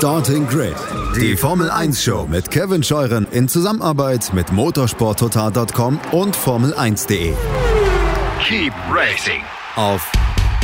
Starting Grid, die Formel 1 Show mit Kevin Scheuren in Zusammenarbeit mit motorsporttotal.com und Formel1.de. Keep racing Auf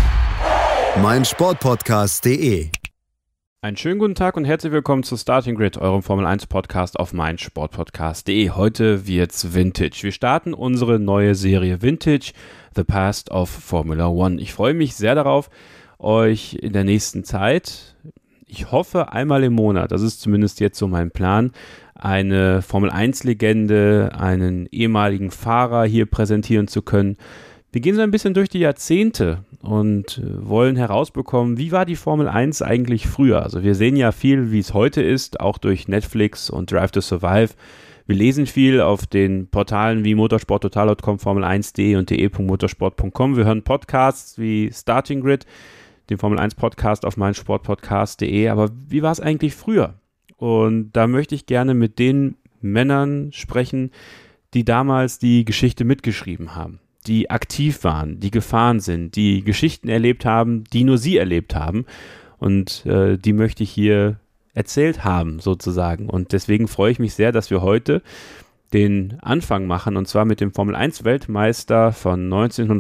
meinsportpodcast.de. Einen schönen guten Tag und herzlich willkommen zu Starting Grid, eurem Formel 1 Podcast auf meinsportpodcast.de. Heute wird's Vintage. Wir starten unsere neue Serie Vintage, The Past of Formula One. Ich freue mich sehr darauf, euch in der nächsten Zeit, ich hoffe einmal im Monat, das ist zumindest jetzt so mein Plan, eine Formel 1 Legende, einen ehemaligen Fahrer hier präsentieren zu können. Wir gehen so ein bisschen durch die Jahrzehnte und wollen herausbekommen, wie war die Formel 1 eigentlich früher? Also wir sehen ja viel, wie es heute ist, auch durch Netflix und Drive to Survive. Wir lesen viel auf den Portalen wie motorsporttotal.com, Formel1.de und de.motorsport.com. Wir hören Podcasts wie Starting Grid, den Formel 1 Podcast auf meinsportpodcast.de. Aber wie war es eigentlich früher? Und da möchte ich gerne mit den Männern sprechen, die damals die Geschichte mitgeschrieben haben, die aktiv waren, die gefahren sind, die Geschichten erlebt haben, die nur sie erlebt haben. Und die möchte ich hier erzählt haben, sozusagen. Und deswegen freue ich mich sehr, dass wir heute den Anfang machen, und zwar mit dem Formel-1-Weltmeister von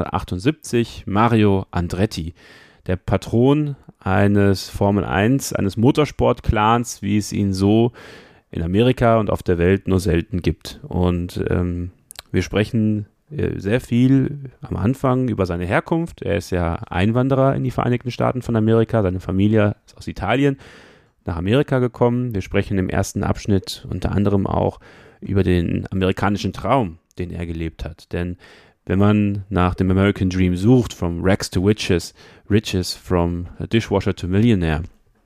1978, Mario Andretti, der Patron eines Formel-1, eines Motorsport-Clans, wie es ihn so in Amerika und auf der Welt nur selten gibt. Und wir sprechen sehr viel am Anfang über seine Herkunft. Er ist ja Einwanderer in die Vereinigten Staaten von Amerika. Seine Familie ist aus Italien nach Amerika gekommen. Wir sprechen im ersten Abschnitt unter anderem auch über den amerikanischen Traum, den er gelebt hat. Denn wenn man nach dem American Dream sucht, from rags to riches, from dishwasher to millionaire,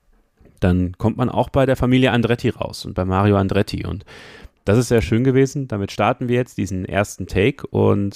dann kommt man auch bei der Familie Andretti raus und bei Mario Andretti. Und das ist sehr schön gewesen. Damit starten wir jetzt diesen ersten Take. Und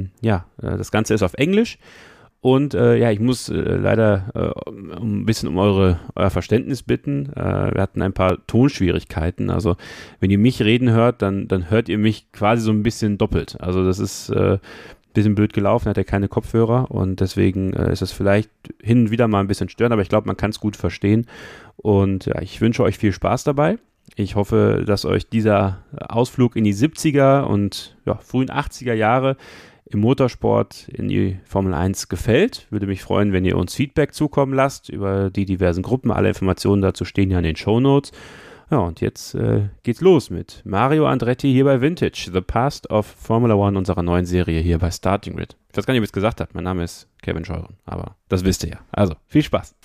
das Ganze ist auf Englisch. Und ich muss leider ein bisschen um euer Verständnis bitten. Wir hatten ein paar Tonschwierigkeiten. Also wenn ihr mich reden hört, dann hört ihr mich quasi so ein bisschen doppelt. Also das ist ein bisschen blöd gelaufen, hat er keine Kopfhörer. Und deswegen ist es vielleicht hin und wieder mal ein bisschen störend. Aber ich glaube, man kann es gut verstehen. Und ja, ich wünsche euch viel Spaß dabei. Ich hoffe, dass euch dieser Ausflug in die 70er und frühen 80er Jahre im Motorsport in die Formel 1 gefällt. Würde mich freuen, wenn ihr uns Feedback zukommen lasst über die diversen Gruppen. Alle Informationen dazu stehen ja in den Shownotes. Ja, und jetzt geht's los mit Mario Andretti hier bei Vintage, The Past of Formula One, unserer neuen Serie hier bei Starting Grid. Ich weiß gar nicht, ob ich es gesagt habe. Mein Name ist Kevin Scheuren, aber das wisst ihr ja. Also, viel Spaß.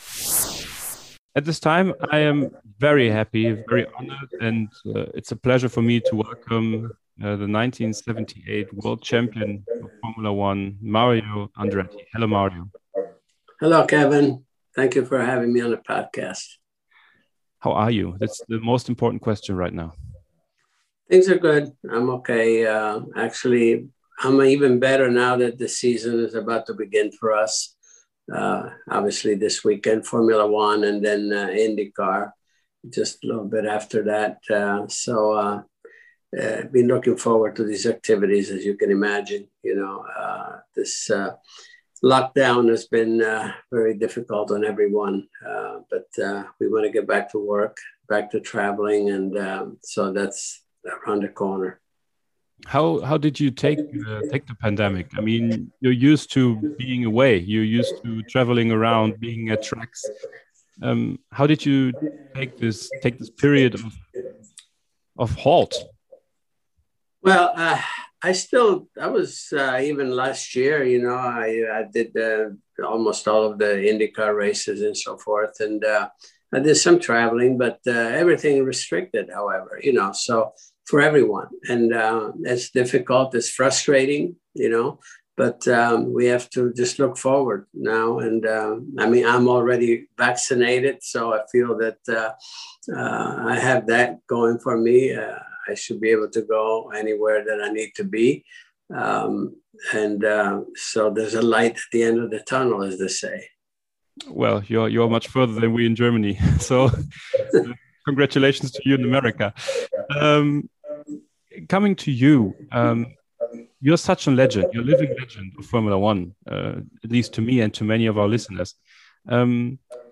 At this time, I am very happy, very honored, and it's a pleasure for me to welcome the 1978 world champion of Formula One, Mario Andretti. Hello, Mario. Hello, Kevin. Thank you for having me on the podcast. How are you? That's the most important question right now. Things are good. I'm okay. Actually, I'm even better now that the season is about to begin for us. Obviously, this weekend, Formula One, and then IndyCar, just a little bit after that. Been looking forward to these activities, as you can imagine. This lockdown has been very difficult on everyone, but we want to get back to work, back to traveling, and so that's around the corner. How did you take the pandemic? I mean, you're used to being away. You're used to traveling around, being at tracks. How did you take this period of halt? Well, I was even last year, I did almost all of the IndyCar races and so forth. And I did some traveling, but everything restricted, however, so for everyone. And it's difficult, it's frustrating, but we have to just look forward now. And I'm already vaccinated, so I feel that I have that going for me. I should be able to go anywhere that I need to be. So there's a light at the end of the tunnel, as they say. Well, you're much further than we in Germany. So congratulations to you in America. Coming to you, you're such a legend. You're a living legend of Formula One, at least to me and to many of our listeners.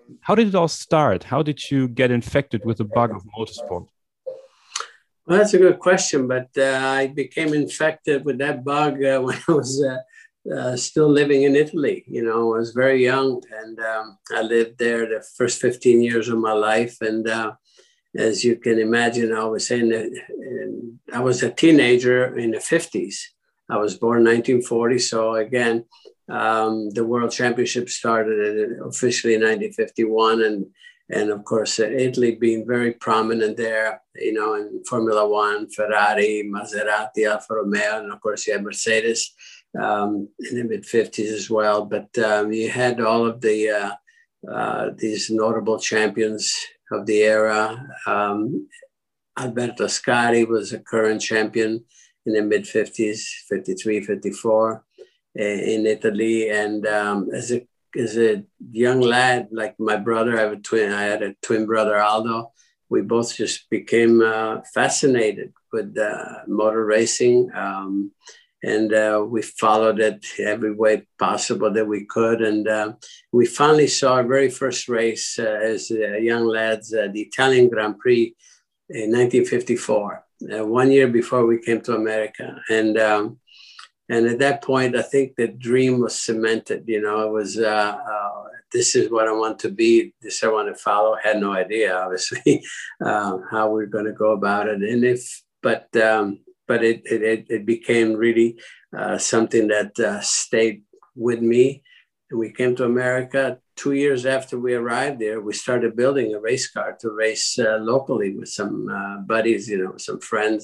How did it all start? How did you get infected with the bug of motorsport? Well, that's a good question, but I became infected with that bug when I was still living in Italy. You know, I was very young, and I lived there the first 15 years of my life. And as you can imagine, I was I was a teenager in the 50s. I was born in 1940. So again, the World Championship started officially in 1951. And of course, Italy being very prominent there, you know, in Formula One, Ferrari, Maserati, Alfa Romeo, and of course you had Mercedes in the mid-50s as well. But you had all of these notable champions of the era. Alberto Ascari was a current champion in the mid-50s, 53, 54 in Italy. And as a young lad, like my brother, I had a twin brother, Aldo. We both just became fascinated with motor racing. And we followed it every way possible that we could. And we finally saw our very first race as young lads, the Italian Grand Prix in 1954, 1 year before we came to America. And at that point, I think the dream was cemented. You know, it was, this is what I want to be. This I want to follow. I had no idea, obviously, how we're going to go about it. And but it became really something that stayed with me. And we came to America 2 years after we arrived there. We started building a race car to race locally with some buddies, you know, some friends.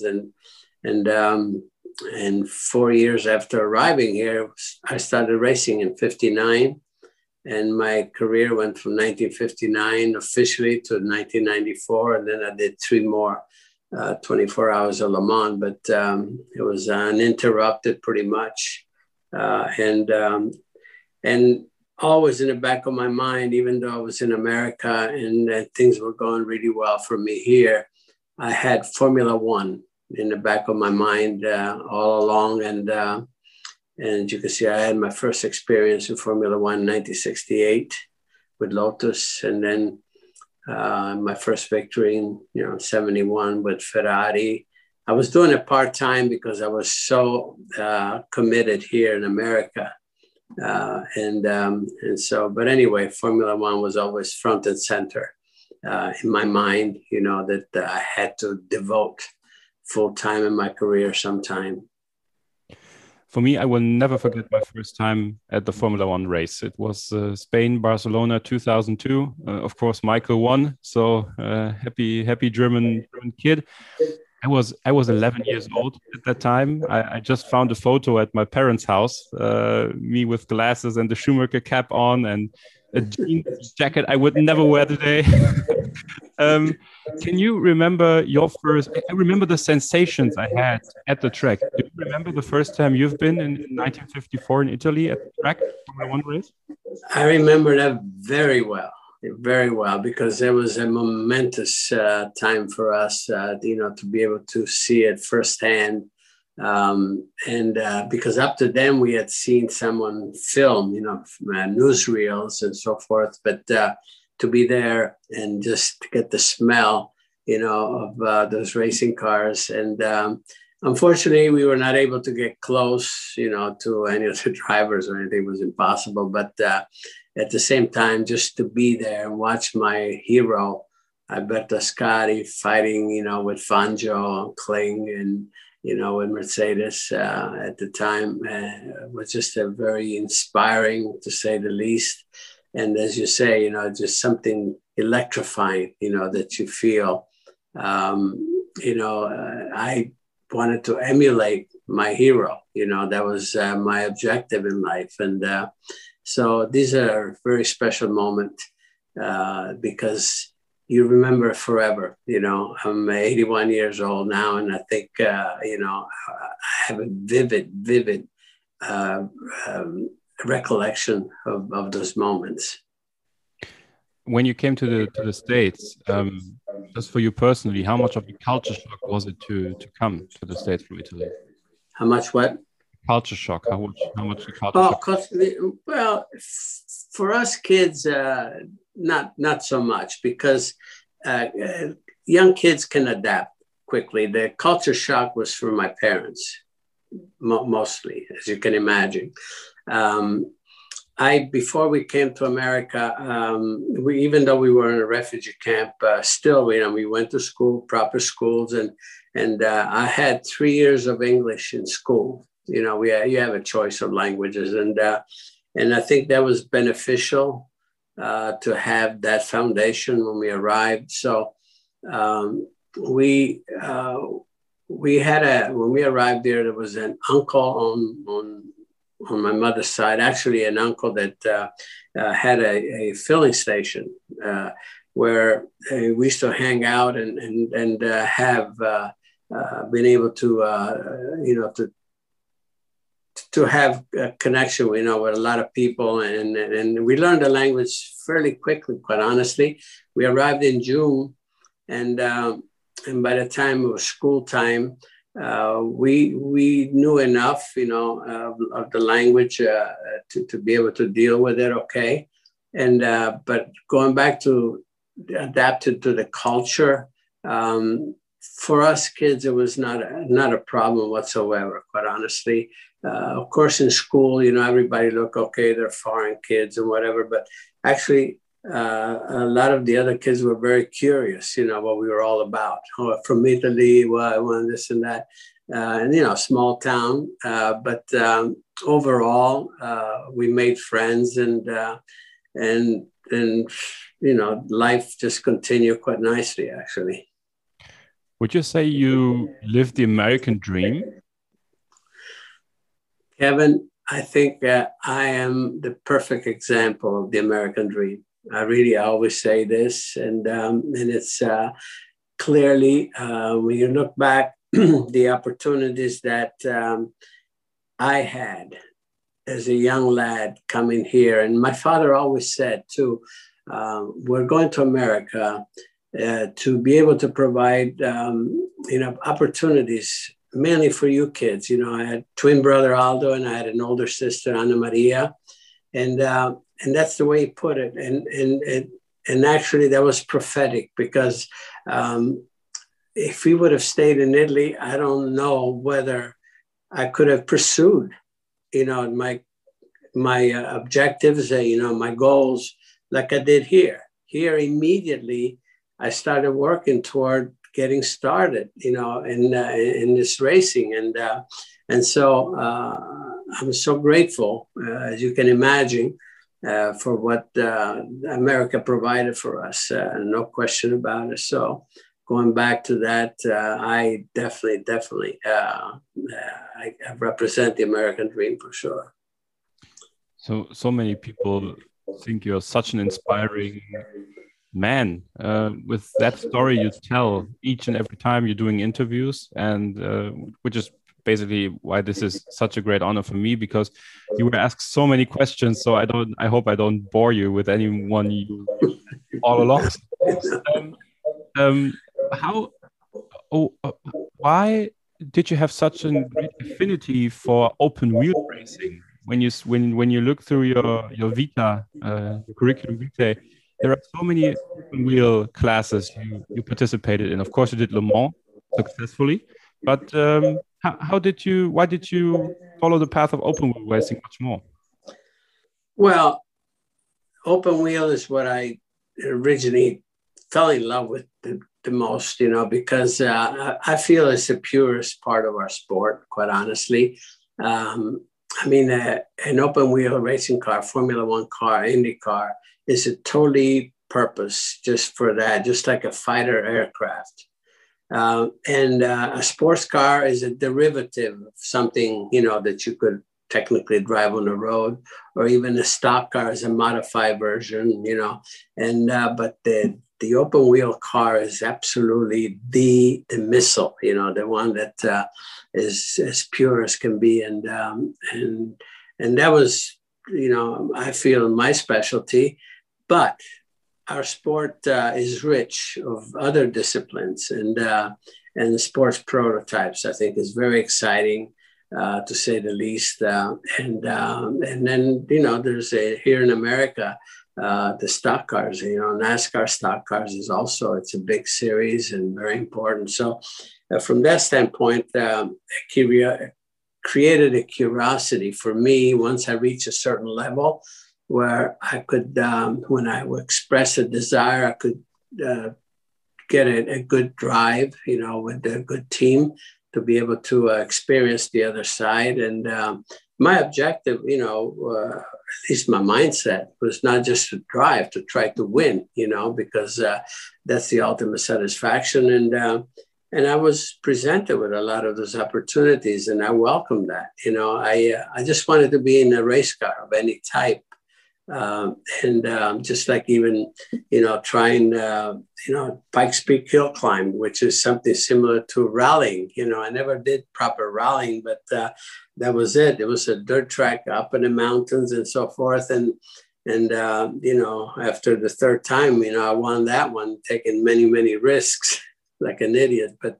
And 4 years after arriving here, I started racing in 59. And my career went from 1959 officially to 1994. And then I did 3 more 24 hours of Le Mans, but it was uninterrupted pretty much. And always in the back of my mind, even though I was in America and things were going really well for me here, I had Formula One in the back of my mind all along. And you can see I had my first experience in Formula One in 1968 with Lotus. And then my first victory in 71 with Ferrari. I was doing it part-time because I was so committed here in America. And so, but anyway, Formula One was always front and center in my mind, you know, that I had to devote full time in my career sometime. For me, I will never forget my first time at the Formula One race. It was Spain, Barcelona, 2002. Of course, Michael won. So happy German kid. I was 11 years old at that time. I just found a photo at my parents' house, me with glasses and the Schumacher cap on and a jeans jacket I would never wear today. Can you remember your first? I remember the sensations I had at the track. Do you remember the first time you've been in 1954 in Italy at the track, Formula One race? I remember that very well, because it was a momentous time for us, you know, to be able to see it firsthand. Because up to then we had seen someone film, you know, newsreels and so forth, but to be there and just to get the smell, you know, of those racing cars. And unfortunately, we were not able to get close, you know, to any of the drivers or anything. It was impossible. But at the same time, just to be there and watch my hero, Alberto Ascari, fighting, you know, with Fangio and Kling and, you know, with Mercedes at the time was just a very inspiring, to say the least. And as you say, you know, just something electrifying, you know, that you feel. You know, I wanted to emulate my hero. You know, that was my objective in life. And so these are a very special moment because you remember it forever. You know, I'm 81 years old now, and I think, you know, I have a vivid recollection of those moments. When you came to the States, just for you personally, how much of a culture shock was it to come to the States from Italy? How much what? culture shock? How much culture Oh, shock? well, for us kids, not so much because young kids can adapt quickly. The culture shock was for my parents, mostly, as you can imagine. Before we came to America, even though we were in a refugee camp, still, we went to school, proper schools, and I had 3 years of English in school. You have a choice of languages, and I think that was beneficial to have that foundation when we arrived. So when we arrived there was an uncle on my mother's side, actually an uncle that had a filling station where we used to hang out and have been able to have a connection, with a lot of people, and we learned the language fairly quickly. Quite honestly, we arrived in June, and by the time it was school time, we knew enough, of the language to be able to deal with it. Okay, but going back to adapted to the culture. For us kids, it was not a problem whatsoever, quite honestly. Of course, in school, everybody look, okay, they're foreign kids and whatever, but actually, a lot of the other kids were very curious, what we were all about. Oh, from Italy, why this and that, and small town. But overall, we made friends, and life just continued quite nicely, actually. Would you say you lived the American dream? Kevin, I think I am the perfect example of the American dream. I always say this, and it's clearly, when you look back, the opportunities that I had as a young lad coming here. And my father always said, too, we're going to America to be able to provide, opportunities, mainly for you kids. I had twin brother Aldo, and I had an older sister, Ana Maria. And that's the way he put it. And actually, that was prophetic, because if we would have stayed in Italy, I don't know whether I could have pursued, my objectives, my goals, like I did here. Here, immediately, I started working toward getting started, in this racing, and so I'm so grateful, as you can imagine, for what America provided for us, no question about it. So going back to that, I definitely, I represent the American dream for sure. So many people think you're such an inspiring man, with that story you tell each and every time you're doing interviews, and which is basically why this is such a great honor for me, because you were asked so many questions. So I hope I don't bore you with anyone you all along. Why did you have such a great affinity for open wheel racing? When you look through your vita, your curriculum vitae, there are so many open wheel classes you participated in. Of course, you did Le Mans successfully, but why did you follow the path of open wheel racing much more? Well, open wheel is what I originally fell in love with the most, because I feel it's the purest part of our sport, quite honestly. An open wheel racing car, Formula One car, Indy car, is a totally purpose just for that, just like a fighter aircraft. And a sports car is a derivative of something, that you could technically drive on the road, or even a stock car is a modified version, but the open wheel car is absolutely the missile, the one that is as pure as can be. And that was, I feel my specialty, but our sport is rich of other disciplines, and the sports prototypes, I think, is very exciting. to say the least. And then, there's here in America, the stock cars, NASCAR stock cars is also, it's a big series and very important. So from that standpoint, created a curiosity for me once I reached a certain level where I could, when I would express a desire, I could get a good drive, with a good team to be able to experience the other side. And my objective, at least my mindset, was not just to drive, to try to win, because that's the ultimate satisfaction. And I was presented with a lot of those opportunities, and I welcomed that. I just wanted to be in a race car of any type. Just like even, trying, Pikes Peak hill climb, which is something similar to rallying. I never did proper rallying, but that was it. It was a dirt track up in the mountains and so forth. And after the third time, I won that one, taking many, many risks. Like an idiot, but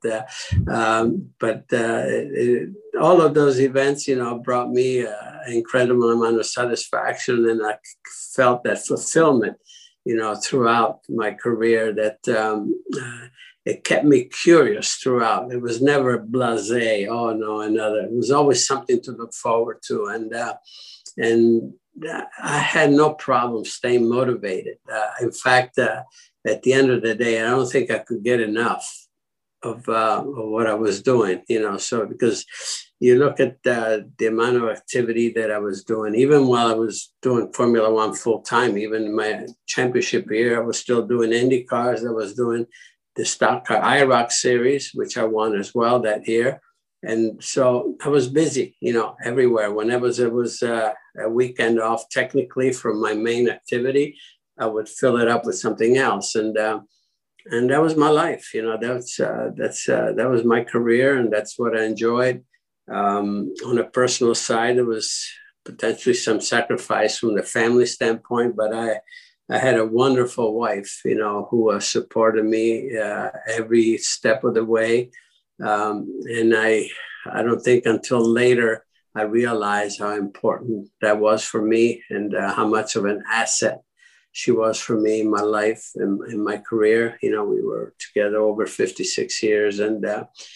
all of those events, brought me an incredible amount of satisfaction, and I felt that fulfillment, throughout my career. That it kept me curious throughout. It was never blasé. Oh no, another. It was always something to look forward to, and I had no problem staying motivated. In fact. At the end of the day, I don't think I could get enough of what I was doing, so because you look at the amount of activity that I was doing, even while I was doing Formula One full time, even in my championship year, I was still doing Indy cars. I was doing the stock car IROC series, which I won as well that year. And so I was busy, everywhere. Whenever there was a weekend off, technically from my main activity, I would fill it up with something else, and that was my life. That was my career, and that's what I enjoyed. On a personal side, there was potentially some sacrifice from the family standpoint, but I had a wonderful wife, who supported me every step of the way, and I don't think until later I realized how important that was for me, and how much of an asset she was for me in my life and in my career. We were together over 56 years, and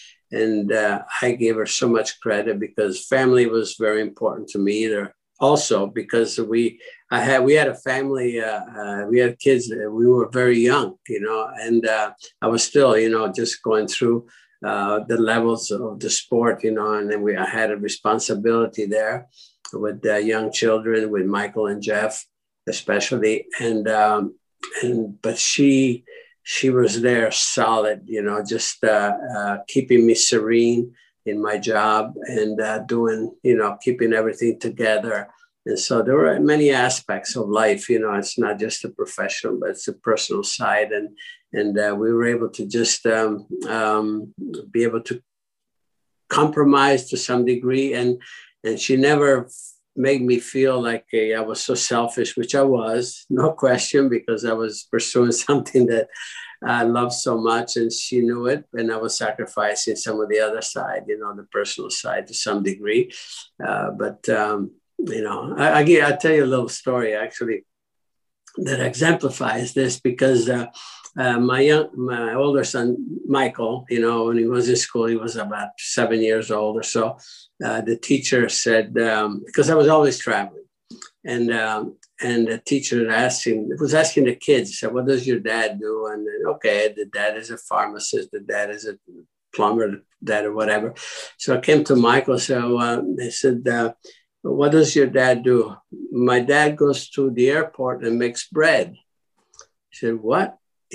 I gave her so much credit because family was very important to me. Also, because we had a family, we had kids. We were very young, and I was still, just going through the levels of the sport, and then I had a responsibility there with young children, with Michael and Jeff. Especially, but she was there solid, just keeping me serene in my job and doing, keeping everything together. And so there were many aspects of life, it's not just a professional, but it's a personal side. And we were able to just be able to compromise to some degree. And she never made me feel like I was so selfish, which I was, no question, because I was pursuing something that I loved so much, and she knew it, and I was sacrificing some of the other side, the personal side to some degree. But I'll tell you a little story, actually, that exemplifies this, because my older son, Michael, when he was in school, he was about 7 years old or so. The teacher said, because I was always traveling, and the teacher was asking the kids, said, "What does your dad do?" And then, okay, the dad is a pharmacist, the dad is a plumber, the dad or whatever. So I came to Michael, so they said, "What does your dad do?" "My dad goes to the airport and makes bread." He said, "What?"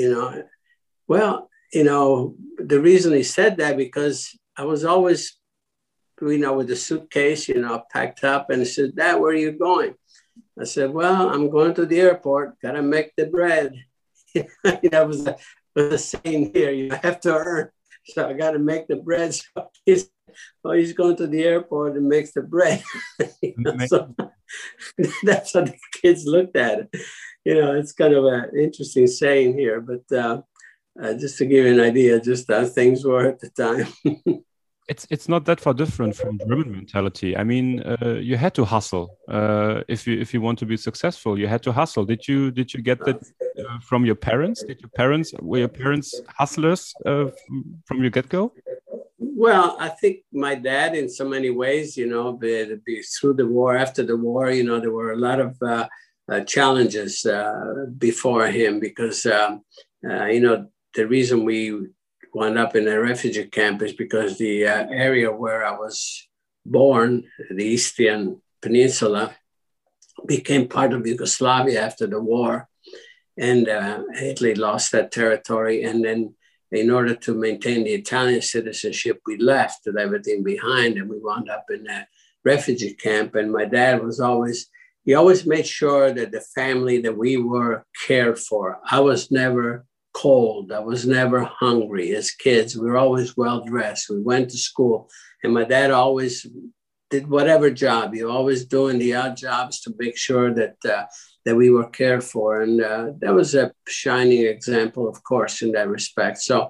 Well, the reason he said that, because I was always, with the suitcase, packed up, and he said, "Dad, where are you going?" I said, "Well, I'm going to the airport, gotta make the bread." That was the saying here, you have to earn. So I gotta make the bread. So he's going to the airport and makes the bread. So that's how the kids looked at it. It's kind of an interesting saying here, but just to give you an idea, just how things were at the time. it's not that far different from German mentality. I mean, you had to hustle if you want to be successful. You had to hustle. Did you get that from your parents? Were your parents hustlers from your get-go? Well, I think my dad, in so many ways, you know, through the war, after the war, you know, there were a lot of challenges before him because, you know, the reason we wound up in a refugee camp is because the area where I was born, the Eastern Peninsula, became part of Yugoslavia after the war. And Italy lost that territory. And then in order to maintain the Italian citizenship, we left everything behind and we wound up in a refugee camp. And my dad he always made sure that the family that we were cared for. I was never cold. I was never hungry. As kids, we were always well-dressed. We went to school and my dad always did whatever job. He always doing the odd jobs to make sure that we were cared for. And that was a shining example, of course, in that respect. So,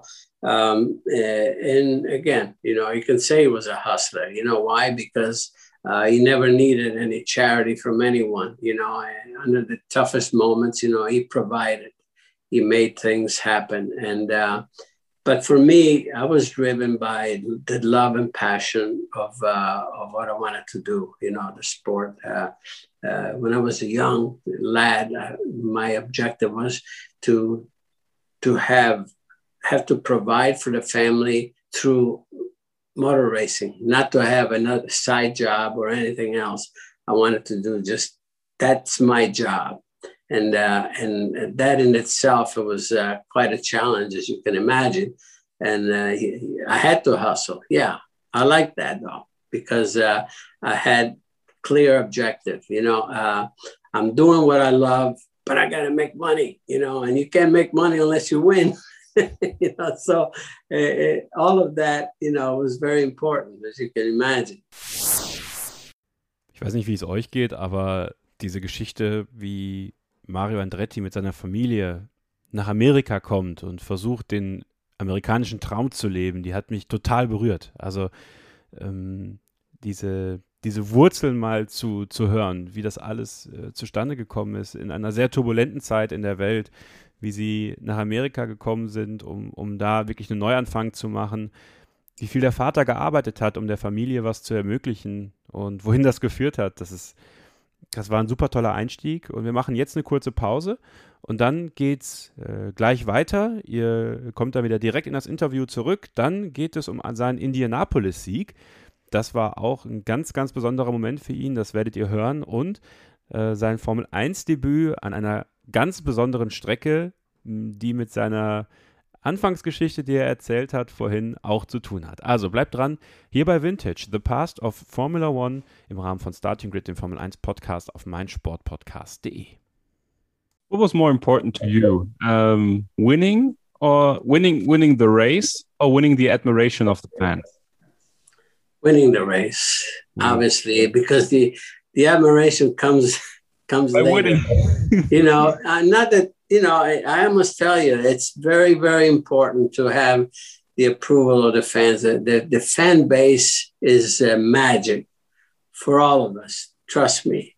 and again, you know, you can say he was a hustler. You know why? Because he never needed any charity from anyone, you know, and under the toughest moments, you know, he provided, he made things happen. And, but for me, I was driven by the love and passion of what I wanted to do, you know, the sport. When I was a young lad, my objective was to have to provide for the family through motor racing, not to have another side job or anything else. I wanted to do that's my job. And that in itself, it was quite a challenge, as you can imagine. And I had to hustle. Yeah, I like that though, because I had clear objective. You know, I'm doing what I love, but I got to make money, you know, and you can't make money unless you win. You know, so all of that, you know, was very important, as you can imagine. Ich weiß nicht, wie es euch geht, aber diese Geschichte, wie Mario Andretti mit seiner Familie nach Amerika kommt und versucht, den amerikanischen Traum zu leben, die hat mich total berührt. Also diese Wurzeln mal zu hören, wie das alles zustande gekommen ist in einer sehr turbulenten Zeit in der Welt, wie sie nach Amerika gekommen sind, um da wirklich einen Neuanfang zu machen, wie viel der Vater gearbeitet hat, um der Familie was zu ermöglichen und wohin das geführt hat. Das war ein super toller Einstieg und wir machen jetzt eine kurze Pause und dann geht's gleich weiter. Ihr kommt dann wieder direkt in das Interview zurück. Dann geht es um seinen Indianapolis-Sieg. Das war auch ein ganz, ganz besonderer Moment für ihn, das werdet ihr hören. Und sein Formel-1-Debüt an einer ganz besonderen Strecke, die mit seiner Anfangsgeschichte, die er erzählt hat, vorhin auch zu tun hat. Also bleibt dran, hier bei Vintage, The Past of Formula One im Rahmen von Starting Grid, dem Formel 1 Podcast auf meinsportpodcast.de. What was more important to you, winning the race or winning the admiration of the fans? Winning the race, obviously, because the admiration comes by later. winning. You know, not that, you know, I must tell you, it's very, very important to have the approval of the fans. The fan base is magic for all of us. Trust me.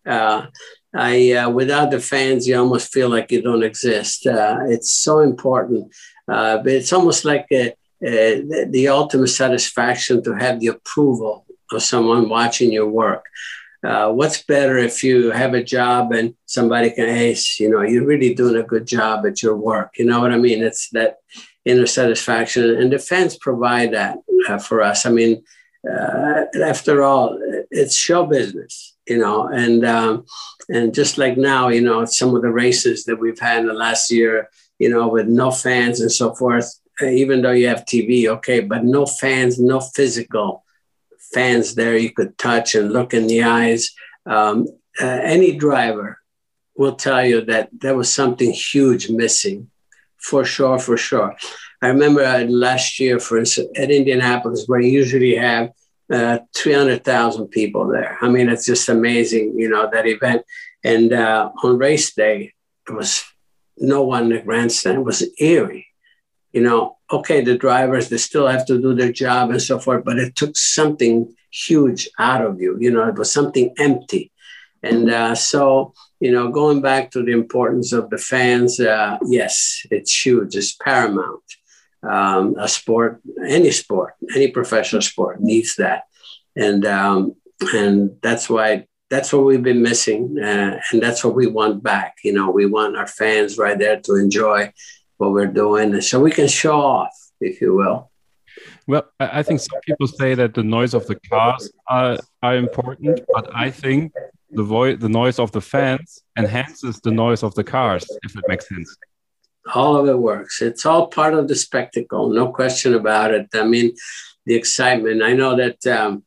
Without the fans, you almost feel like you don't exist. It's so important. But it's almost like the ultimate satisfaction to have the approval of someone watching your work. What's better if you have a job and somebody can, hey, you know, you're really doing a good job at your work. You know what I mean? It's that inner satisfaction. And the fans provide that for us. I mean, after all, it's show business, you know, and just like now, you know, some of the races that we've had in the last year, you know, with no fans and so forth, even though you have TV, okay, but no fans, no physical fans there you could touch and look in the eyes. Any driver will tell you that there was something huge missing, for sure, for sure. I remember last year, for instance, at Indianapolis, where you usually have 300,000 people there. I mean, it's just amazing, you know, that event. And on race day, there was no one in the grandstand. It was eerie. okay, the drivers, they still have to do their job and so forth, but it took something huge out of you. It was something empty. And so, going back to the importance of the fans, yes, it's huge. It's paramount. A sport, any professional sport needs that. And that's what we've been missing. And that's what we want back. We want our fans right there to enjoy what we're doing, so we can show off, if you will. Well, I think some people say that the noise of the cars are important, but I think the noise of the fans enhances the noise of the cars, if it makes sense. All of it works. It's all part of the spectacle, no question about it. I mean, the excitement. I know that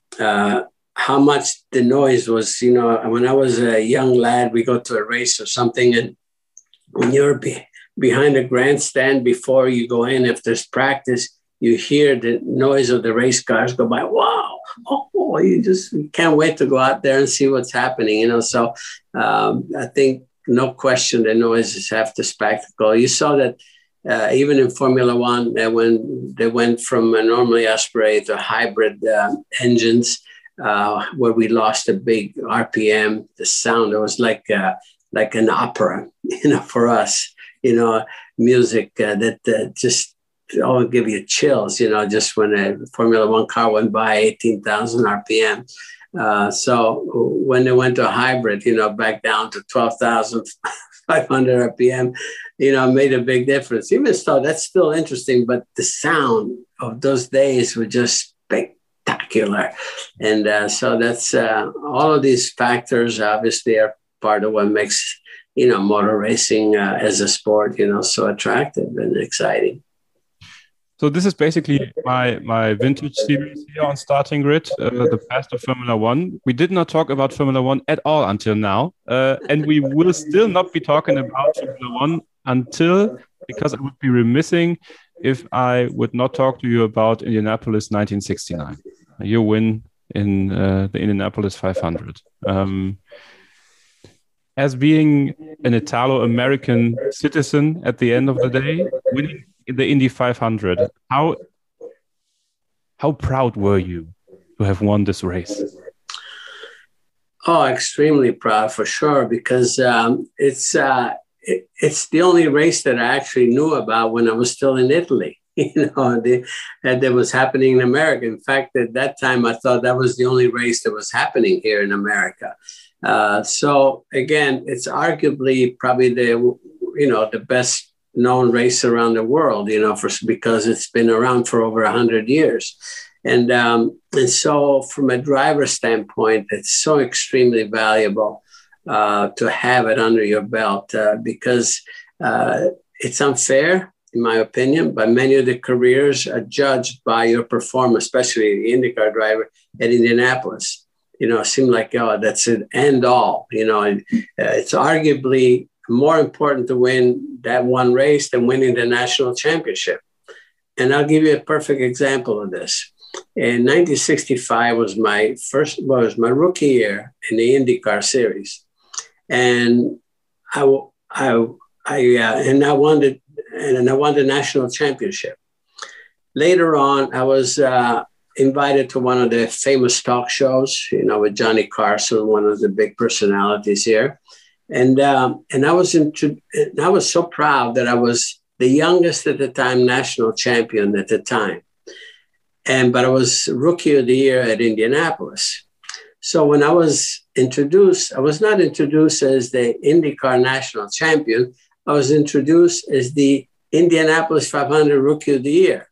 how much the noise was, when I was a young lad, we go to a race or something, and when you're behind a grandstand before you go in, if there's practice, you hear the noise of the race cars go by. Wow. Oh, you can't wait to go out there and see what's happening, So I think, no question, the noise is half the spectacle. You saw that even in Formula One, when they went from normally aspirated to hybrid engines, where we lost a big RPM, the sound, it was like an opera, for us, music that just give you chills, just when a Formula One car went by 18,000 RPM. So when they went to a hybrid, back down to 12,500 RPM, made a big difference. Even so, that's still interesting, but the sound of those days were just spectacular. And so that's all of these factors obviously are part of what makes, motor racing as a sport, so attractive and exciting. So this is basically my vintage series here on Starting Grid, the past of Formula One. We did not talk about Formula One at all until now, and we will still not be talking about Formula One because I would be remissing if I would not talk to you about Indianapolis 1969, your win in the Indianapolis 500. As being an Italo-American citizen at the end of the day, winning the Indy 500, how proud were you to have won this race? Oh, extremely proud for sure, because it's the only race that I actually knew about when I was still in Italy. That was happening in America. In fact, at that time, I thought that was the only race that was happening here in America. So again, it's arguably probably the best known race around the world, because it's been around for over 100 years. And so from a driver's standpoint, it's so extremely valuable to have it under your belt because it's unfair, in my opinion, but many of the careers are judged by your performance, especially the IndyCar driver at Indianapolis. It seemed like, that's an end all. It's arguably more important to win that one race than winning the national championship. And I'll give you a perfect example of this. In 1965 was my rookie year in the IndyCar series, and I won the national championship. Later on, I was invited to one of the famous talk shows, with Johnny Carson, one of the big personalities here. And I was so proud that I was the youngest at the time national champion at the time. But I was Rookie of the Year at Indianapolis. So when I was introduced, I was not introduced as the IndyCar national champion. I was introduced as the Indianapolis 500 Rookie of the Year.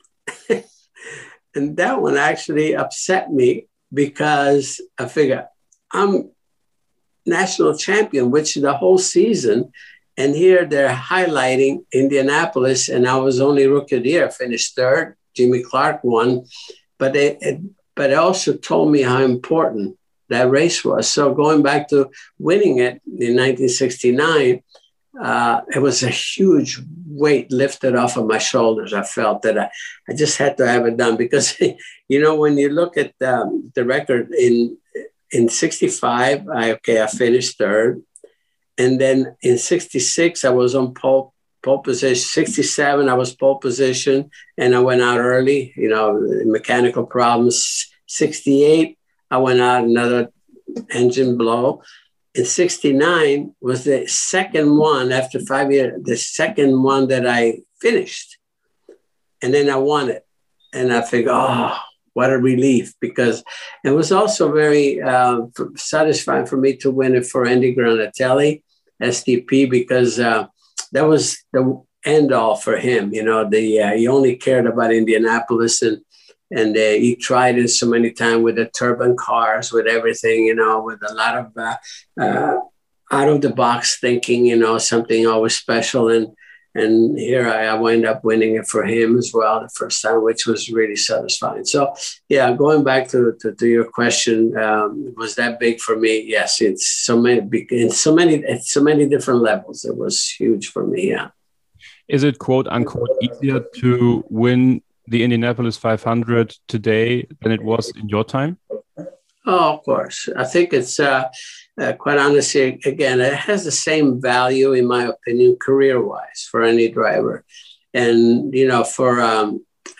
And that one actually upset me because I figured I'm national champion, which the whole season. And here they're highlighting Indianapolis, and I was only Rookie of the Year. I finished third. Jimmy Clark won. But it also told me how important that race was. So going back to winning it in 1969, it was a huge weight lifted off of my shoulders. I felt that I just had to have it done because, when you look at the record in 65, I finished third. And then in 66, I was on pole pole position. 67, I was pole position, and I went out early, mechanical problems. 68, I went out another engine blow. In 69 was the second one after 5 years, the second one that I finished. And then I won it. And I figured, what a relief, because it was also very satisfying for me to win it for Andy Granatelli, SDP, because that was the end all for him. He only cared about Indianapolis, and he tried it so many times with the turbine cars, with everything, with a lot of out of the box thinking, something always special. And here I wind up winning it for him as well the first time, which was really satisfying. So, yeah, going back to your question, was that big for me? Yes, it's so many different levels. It was huge for me. Yeah. Is it quote unquote easier to win the Indianapolis 500 today than it was in your time? Oh, of course. I think it's quite honestly, again, it has the same value, in my opinion, career-wise for any driver. And, for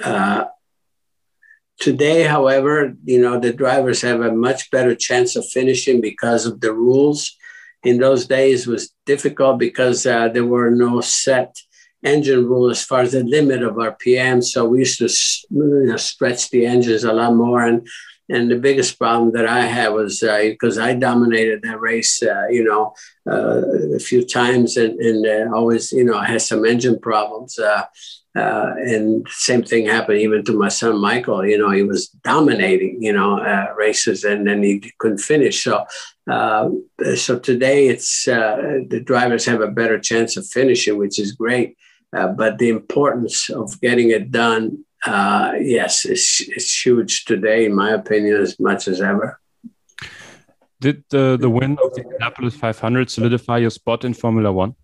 today, however, the drivers have a much better chance of finishing because of the rules. In those days, it was difficult because there were no set engine rule as far as the limit of RPM. So we used to stretch the engines a lot more. And the biggest problem that I had was because I dominated that race, a few times and always, I had some engine problems. And same thing happened even to my son, Michael. He was dominating, races, and then he couldn't finish. So today it's the drivers have a better chance of finishing, which is great. But the importance of getting it done, yes, it's huge today, in my opinion, as much as ever. Did the win of the Indianapolis 500 solidify your spot in Formula One?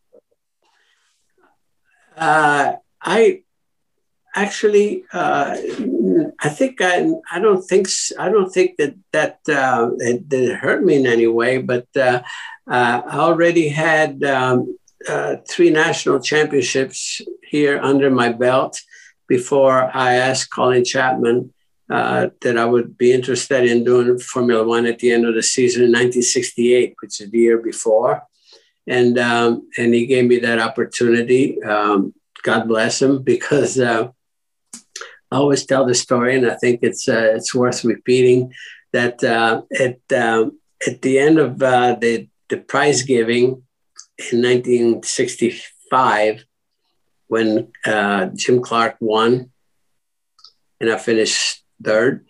I actually, I think I don't think that it hurt me in any way, but I already had 3 national championships here under my belt before I asked Colin Chapman that I would be interested in doing Formula One at the end of the season in 1968, which is the year before. And he gave me that opportunity. God bless him, because I always tell the story, and I think it's worth repeating, that at the end of the prize giving in 1965, when Jim Clark won and I finished third,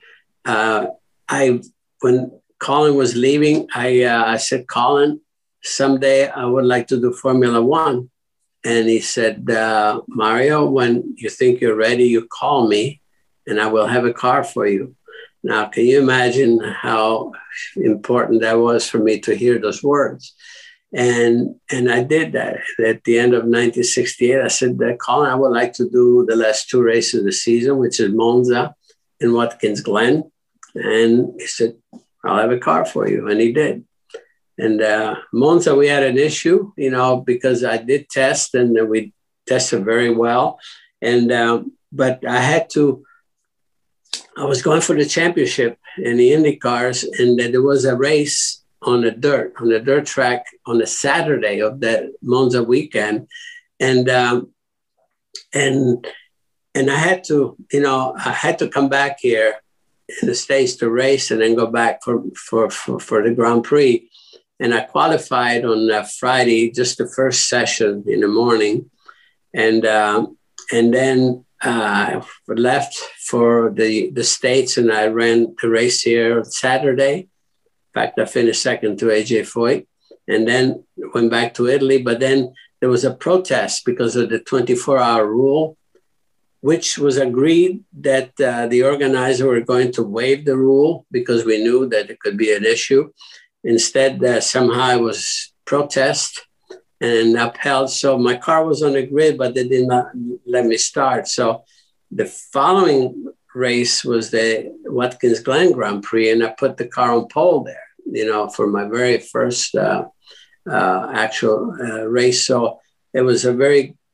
when Colin was leaving, I said, Colin, someday I would like to do Formula One. And he said, Mario, when you think you're ready, you call me and I will have a car for you. Now, can you imagine how important that was for me to hear those words? And I did that. At the end of 1968, I said, Colin, I would like to do the last 2 races of the season, which is Monza and Watkins Glen. And he said, I'll have a car for you. And he did. And Monza, we had an issue, because I did test and we tested very well. And but I was going for the championship in the Indy cars, and there was a race on the dirt track on a Saturday of that Monza weekend. And I had to, I had to come back here in the States to race and then go back for the Grand Prix. And I qualified on Friday, just the first session in the morning. And then I left for the States, and I ran the race here Saturday. In fact, I finished second to AJ Foyt, and then went back to Italy. But then there was a protest because of the 24-hour rule, which was agreed that the organizer were going to waive the rule because we knew that it could be an issue. Instead, somehow it was protest and upheld. So my car was on the grid, but they did not let me start. So the following race was the Watkins Glen Grand Prix, and I put the car on pole there, for my very first actual race. So it was a very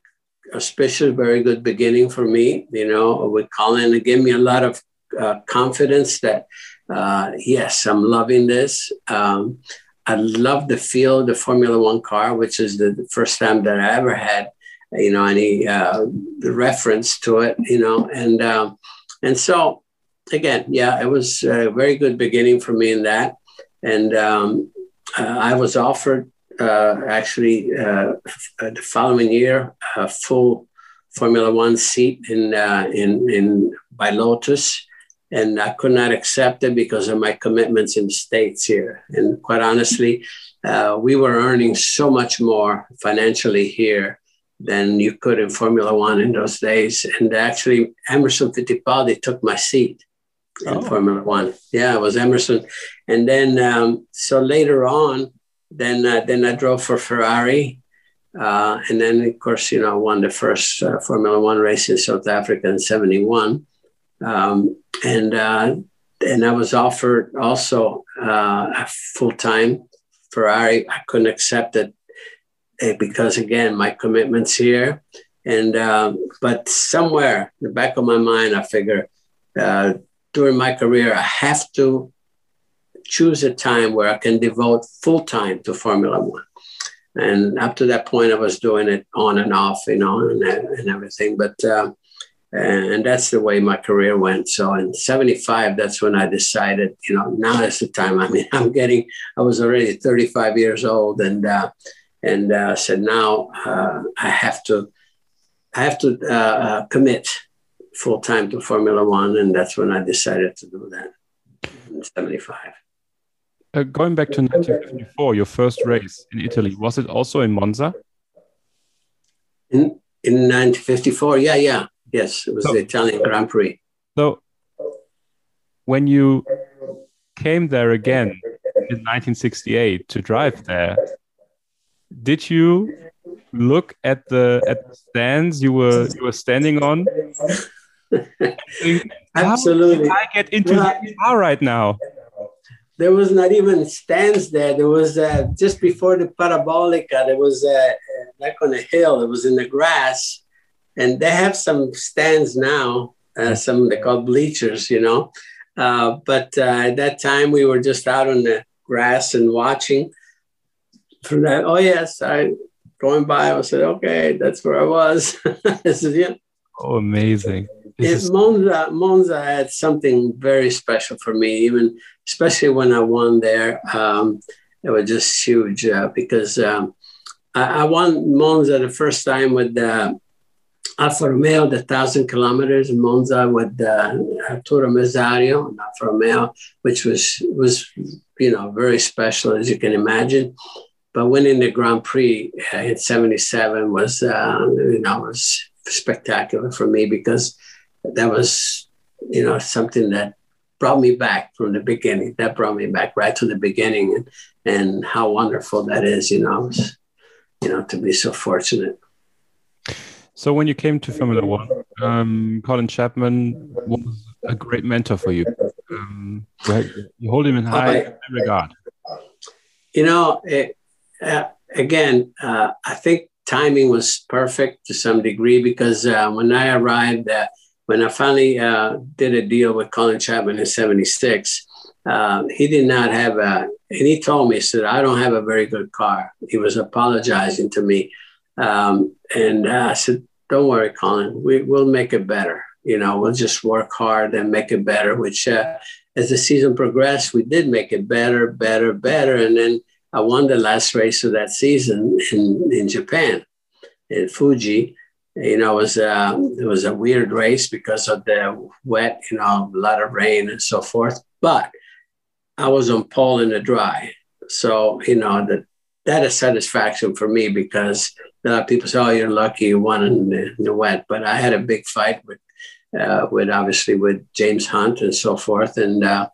auspicious, very good beginning for me, with Colin. It gave me a lot of confidence that, yes, I'm loving this. I love the feel of the Formula One car, which is the first time that I ever had, any reference to it, and so again, yeah, it was a very good beginning for me in that. And I was offered actually the following year a full Formula One seat in by Lotus. And I could not accept it because of my commitments in the States here. And quite honestly, we were earning so much more financially here than you could in Formula One in those days. And actually, Emerson Fittipaldi took my seat in Formula One. Yeah, it was Emerson. And then, so later on, then I drove for Ferrari. And then, of course, I won the first Formula One race in South Africa in 71. And I was offered also a full-time Ferrari. I couldn't accept it because, again, my commitments here. And but somewhere in the back of my mind, I figure during my career, I have to choose a time where I can devote full-time to Formula One. And up to that point, I was doing it on and off, and everything. But and that's the way my career went. So in 75, that's when I decided, now is the time. I mean, I was already 35 years old, and said, now I have to commit full time to Formula One, and that's when I decided to do that in 75. Going back to 1954, your first race in Italy, was it also in Monza? In 1954, yeah. Yes, it was the Italian Grand Prix. So when you came there again in 1968 to drive there, did you look at the stands you were standing on? Think, absolutely. how did I get into the car right now? There was not even stands there. There was just before the Parabolica, there was like on a hill. It was in the grass. And they have some stands now, some they call bleachers, But at that time, we were just out on the grass and watching. From that, oh yes, going by. I said, okay, that's where I was. This is it. Oh, amazing! Monza had something very special for me, even especially when I won there. It was just huge because I won Monza the first time with Alfa Romeo, the 1,000 kilometers in Monza with Arturo Mesario and Alfa Romeo, which was very special, as you can imagine. But winning the Grand Prix in 77 was spectacular for me because that was, something that brought me back from the beginning. That brought me back right to the beginning, and how wonderful that is, to be so fortunate. So when you came to Formula One, Colin Chapman was a great mentor for you. You hold him in high regard. Again, I think timing was perfect to some degree because when I arrived, when I finally did a deal with Colin Chapman in 76, he did not have and he told me, he said, I don't have a very good car. He was apologizing to me. And I said, don't worry, Colin, we'll make it better. We'll just work hard and make it better, which as the season progressed, we did make it better. And then I won the last race of that season in Japan, in Fuji. It was a weird race because of the wet, a lot of rain and so forth. But I was on pole in the dry. So, that is satisfaction for me because a lot of people say, oh, you're lucky you won in the wet. But I had a big fight with obviously with James Hunt and so forth. And I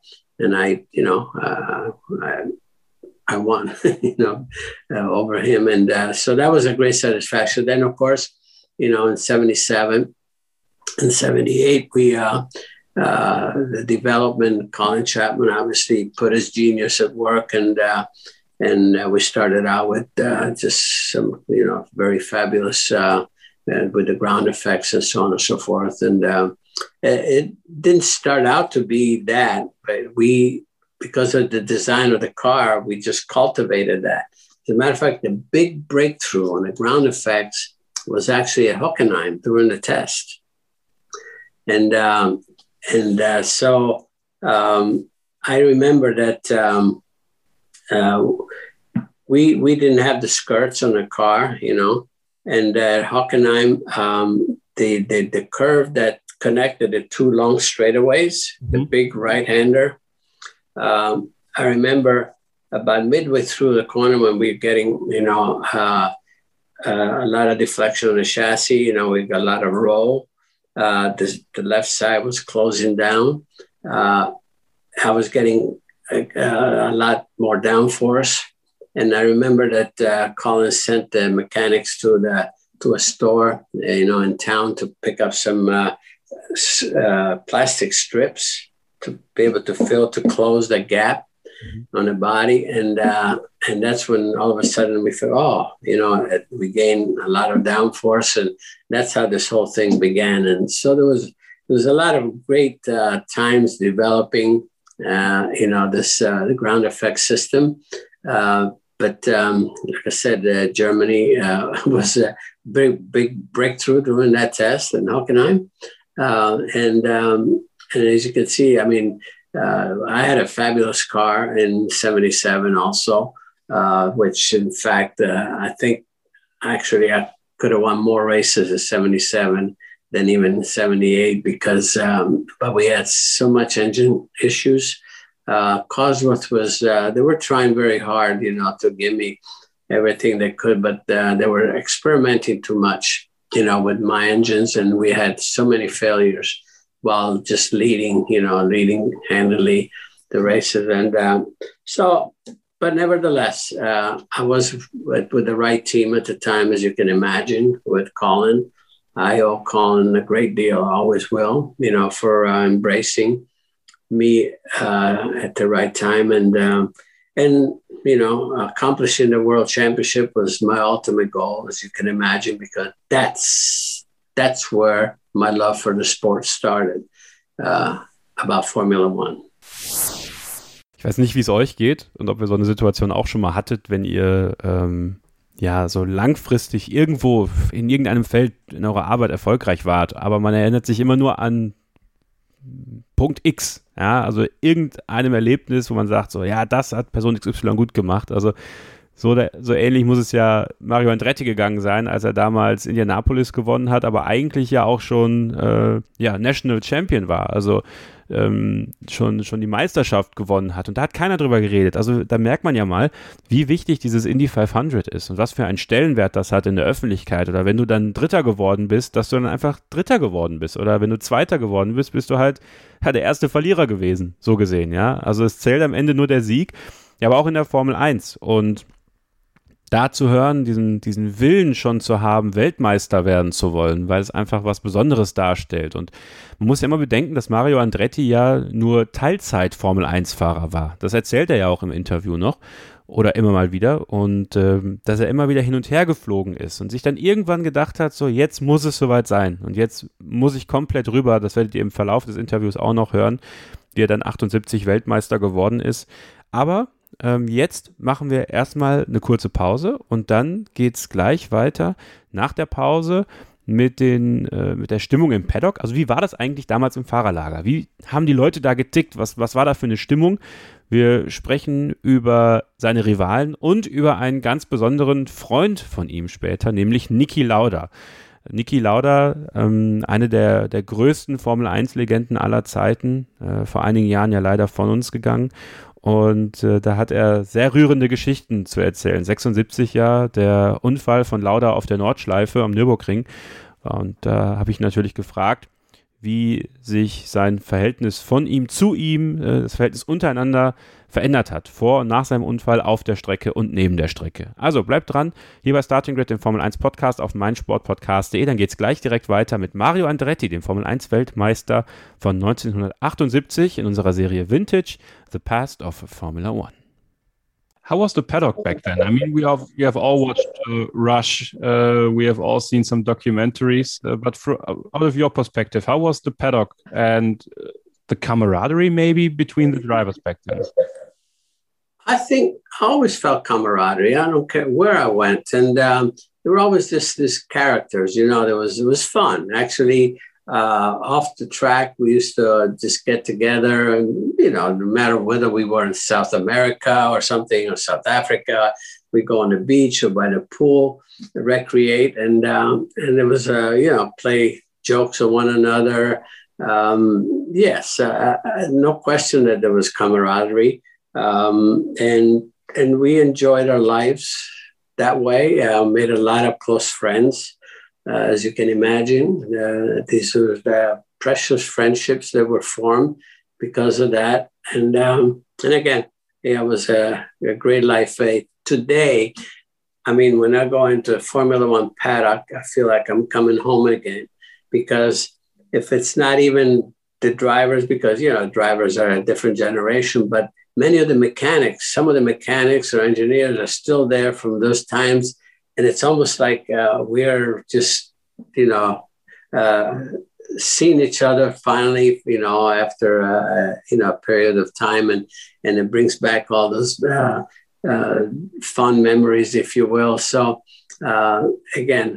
won, over him. And so that was a great satisfaction. Then, of course, in 77 and 78, the development, Colin Chapman obviously put his genius at work, and we started out with just some, very fabulous with the ground effects and so on and so forth. And it didn't start out to be that, but because of the design of the car, we just cultivated that. As a matter of fact, the big breakthrough on the ground effects was actually at Hockenheim during the test. And so I remember that we didn't have the skirts on the car, and at Hockenheim, the curve that connected the two long straightaways, the big right-hander, I remember about midway through the corner when we were getting, a lot of deflection on the chassis, we got a lot of roll. The left side was closing down. I was getting a lot more downforce. And I remember that Collins sent the mechanics to a store, in town to pick up some plastic strips to be able to close the gap on the body. And that's when all of a sudden we felt, we gained a lot of downforce, and that's how this whole thing began. And so there was a lot of great times developing, this the ground effect system. But like I said, Germany was a big breakthrough during that test in Hockenheim. And as you can see, I had a fabulous car in 77 also, which in fact, I think actually I could have won more races in 77 than even 78 because, but we had so much engine issues. Cosworth was, they were trying very hard, to give me everything they could, but they were experimenting too much, with my engines. And we had so many failures while just leading handily the races. And but nevertheless, I was with the right team at the time, as you can imagine, with Colin. I owe Colin a great deal, always will, for embracing me at the right time. And accomplishing the world championship was my ultimate goal, as you can imagine, because that's where my love for the sport started, about Formula One. Ich weiß nicht, wie es euch geht und ob ihr so eine Situation auch schon mal hattet, wenn ihr so langfristig irgendwo in irgendeinem Feld in eurer Arbeit erfolgreich wart, aber man erinnert sich immer nur an Punkt X, also irgendeinem Erlebnis, wo man sagt, so, ja, das hat Person XY gut gemacht. Also so ähnlich muss es ja Mario Andretti gegangen sein, als er damals Indianapolis gewonnen hat, aber eigentlich ja auch schon National Champion war, also schon die Meisterschaft gewonnen hat, und da hat keiner drüber geredet. Also da merkt man ja mal, wie wichtig dieses Indy 500 ist und was für einen Stellenwert das hat in der Öffentlichkeit. Oder wenn du dann Dritter geworden bist, dass du dann einfach Dritter geworden bist, oder wenn du Zweiter geworden bist, bist du halt der erste Verlierer gewesen, so gesehen, ja. Also es zählt am Ende nur der Sieg, ja, aber auch in der Formel 1, und da zu hören, diesen Willen schon zu haben, Weltmeister werden zu wollen, weil es einfach was Besonderes darstellt. Und man muss ja immer bedenken, dass Mario Andretti ja nur Teilzeit-Formel-1-Fahrer war. Das erzählt er ja auch im Interview noch oder immer mal wieder. Und dass er immer wieder hin und her geflogen ist und sich dann irgendwann gedacht hat, so, jetzt muss es soweit sein. Und jetzt muss ich komplett rüber, das werdet ihr im Verlauf des Interviews auch noch hören, wie er dann 78 Weltmeister geworden ist. Aber jetzt machen wir erstmal eine kurze Pause und dann geht es gleich weiter nach der Pause mit der Stimmung im Paddock. Also wie war das eigentlich damals im Fahrerlager? Wie haben die Leute da getickt? Was war da für eine Stimmung? Wir sprechen über seine Rivalen und über einen ganz besonderen Freund von ihm später, nämlich Niki Lauda. Niki Lauda, eine der größten Formel-1-Legenden aller Zeiten, vor einigen Jahren ja leider von uns gegangen. Und da hat er sehr rührende Geschichten zu erzählen. 76 der Unfall von Lauda auf der Nordschleife am Nürburgring. Und da habe ich natürlich gefragt, wie sich sein Verhältnis von ihm zu ihm, das Verhältnis untereinander verändert hat, vor und nach seinem Unfall auf der Strecke und neben der Strecke. Also bleibt dran, hier bei Starting Grid, dem Formel 1 Podcast auf meinsportpodcast.de. Dann geht es gleich direkt weiter mit Mario Andretti, dem Formel 1 Weltmeister von 1978 in unserer Serie Vintage, The Past of Formula One. How was the paddock back then? I mean, we have all watched Rush. We have all seen some documentaries. But out of your perspective, how was the paddock and the camaraderie maybe between the drivers back then? I think I always felt camaraderie. I don't care where I went, and there were always this characters. You know, it was fun actually. Off the track, we used to just get together, and you know, no matter whether we were in South America or something, or South Africa, we go on the beach or by the pool, recreate, and it was you know, play jokes on one another. Yes, no question that there was camaraderie, and we enjoyed our lives that way. Made a lot of close friends. As you can imagine, these were the precious friendships that were formed because of that. And again, it was a great life. Today, I mean, when I go into Formula One paddock, I feel like I'm coming home again, because if it's not even the drivers, because, you know, drivers are a different generation, but many of the mechanics, some of the mechanics or engineers are still there from those times. And it's almost like we're just, you know, seeing each other finally, you know, after, you know, a period of time. And it brings back all those fond memories, if you will. So, again,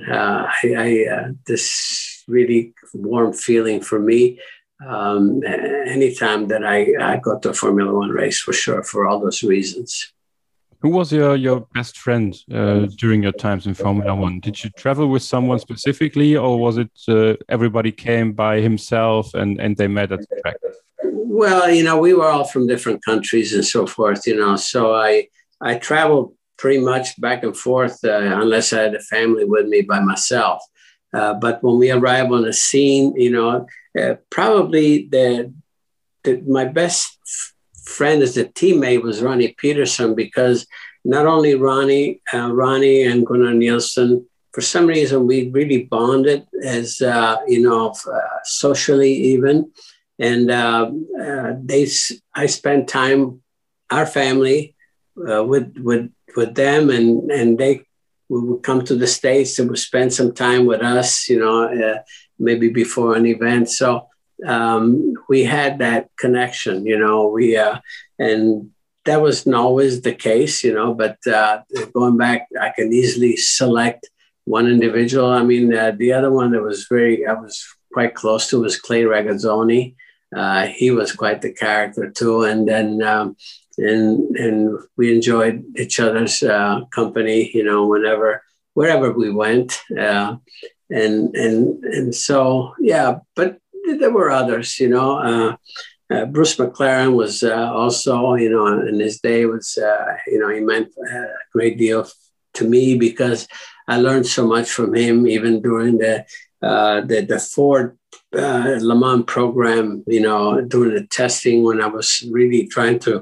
this really warm feeling for me anytime that I go to a Formula One race, for sure, for all those reasons. Who was your best friend during your times in Formula One? Did you travel with someone specifically, or was it everybody came by himself and they met at the track? Well, you know, we were all from different countries and so forth, you know, so I traveled pretty much back and forth unless I had a family with me by myself. But when we arrived on the scene, you know, probably my best friend as a teammate was Ronnie Peterson, because not only Ronnie and Gunnar Nielsen, for some reason we really bonded as you know, socially even, and I spent time, our family, with them, and they would come to the States and would spend some time with us, you know, maybe before an event. So we had that connection, you know, and that wasn't always the case, you know, but going back, I can easily select one individual. I mean, the other one that I was quite close to was Clay Regazzoni. He was quite the character too. And then, and we enjoyed each other's company, you know, wherever we went. And so, yeah, but there were others, you know. Bruce McLaren was also, you know, in his day was, you know, he meant a great deal to me because I learned so much from him, even during the Ford Le Mans program, you know, during the testing when I was really trying to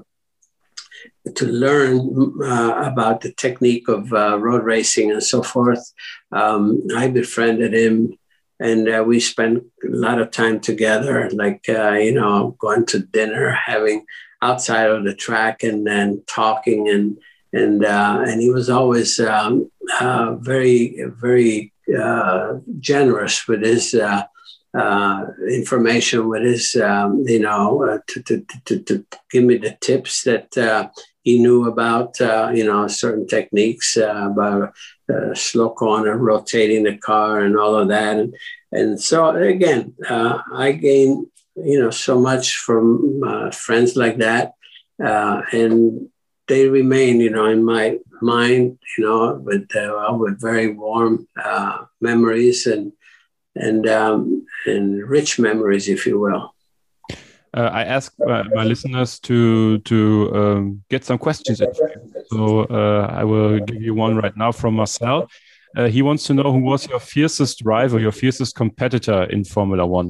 learn about the technique of road racing and so forth. I befriended him. And we spent a lot of time together, like, you know, going to dinner, having outside of the track and then talking. And he was always very, very generous with his information, with his, you know, to give me the tips that he knew about, you know, certain techniques about slow corner, rotating the car and all of that. And so, again, I gained, you know, so much from friends like that. And they remain, you know, in my mind, you know, with very warm memories and rich memories, if you will. I asked my listeners to get some questions in. So I will give you one right now from Marcel. He wants to know who was your fiercest rival, your fiercest competitor in Formula One?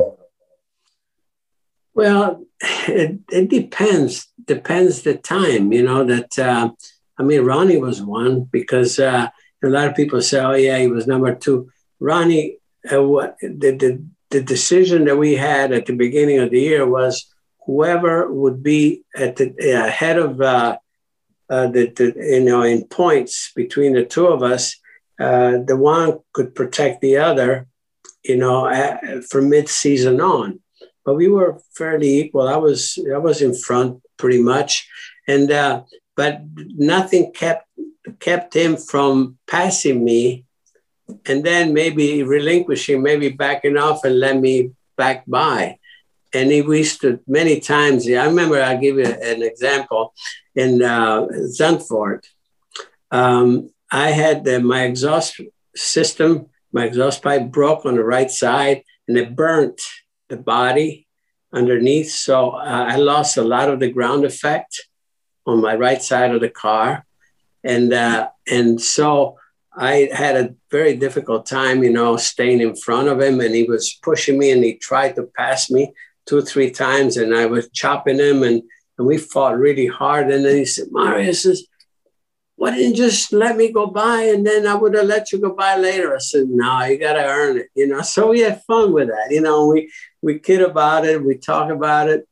Well, it depends. Depends the time, you know, that, I mean, Ronnie was one because a lot of people say, oh, yeah, he was number two. Ronnie, the decision that we had at the beginning of the year was whoever would be at the head of in points between the two of us, the one could protect the other, from mid-season on. But we were fairly equal. I was in front pretty much, and but nothing kept him from passing me, and then maybe relinquishing, maybe backing off and let me back by. And we used to many times. I remember. I'll give you an example. In Zandvoort, I had my exhaust system. My exhaust pipe broke on the right side, and it burnt the body underneath. So I lost a lot of the ground effect on my right side of the car, and so I had a very difficult time, staying in front of him, and he was pushing me, and he tried to pass me 2 or 3 times, and I was chopping him, and we fought really hard. And then he said, Mario says, why didn't you just let me go by, and then I would have let you go by later? I said, no, you got to earn it, So we had fun with that, we kid about it, we talk about it.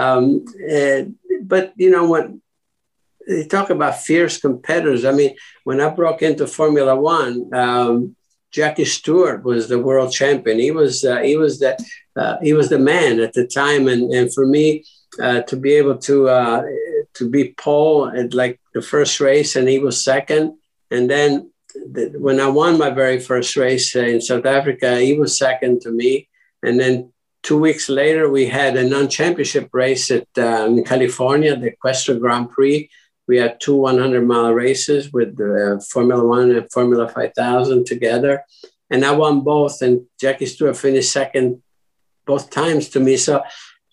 But, when they talk about fierce competitors, I mean, when I broke into Formula One, Jackie Stewart was the world champion. He was the man at the time. And for me, to be able to be pole at like the first race, and he was second. And then when I won my very first race in South Africa, he was second to me. And then 2 weeks later, we had a non-championship race in California, the Equestrian Grand Prix. We had 2 100-mile races with Formula One and Formula 5000 together. And I won both, and Jackie Stewart finished second both times to me. So,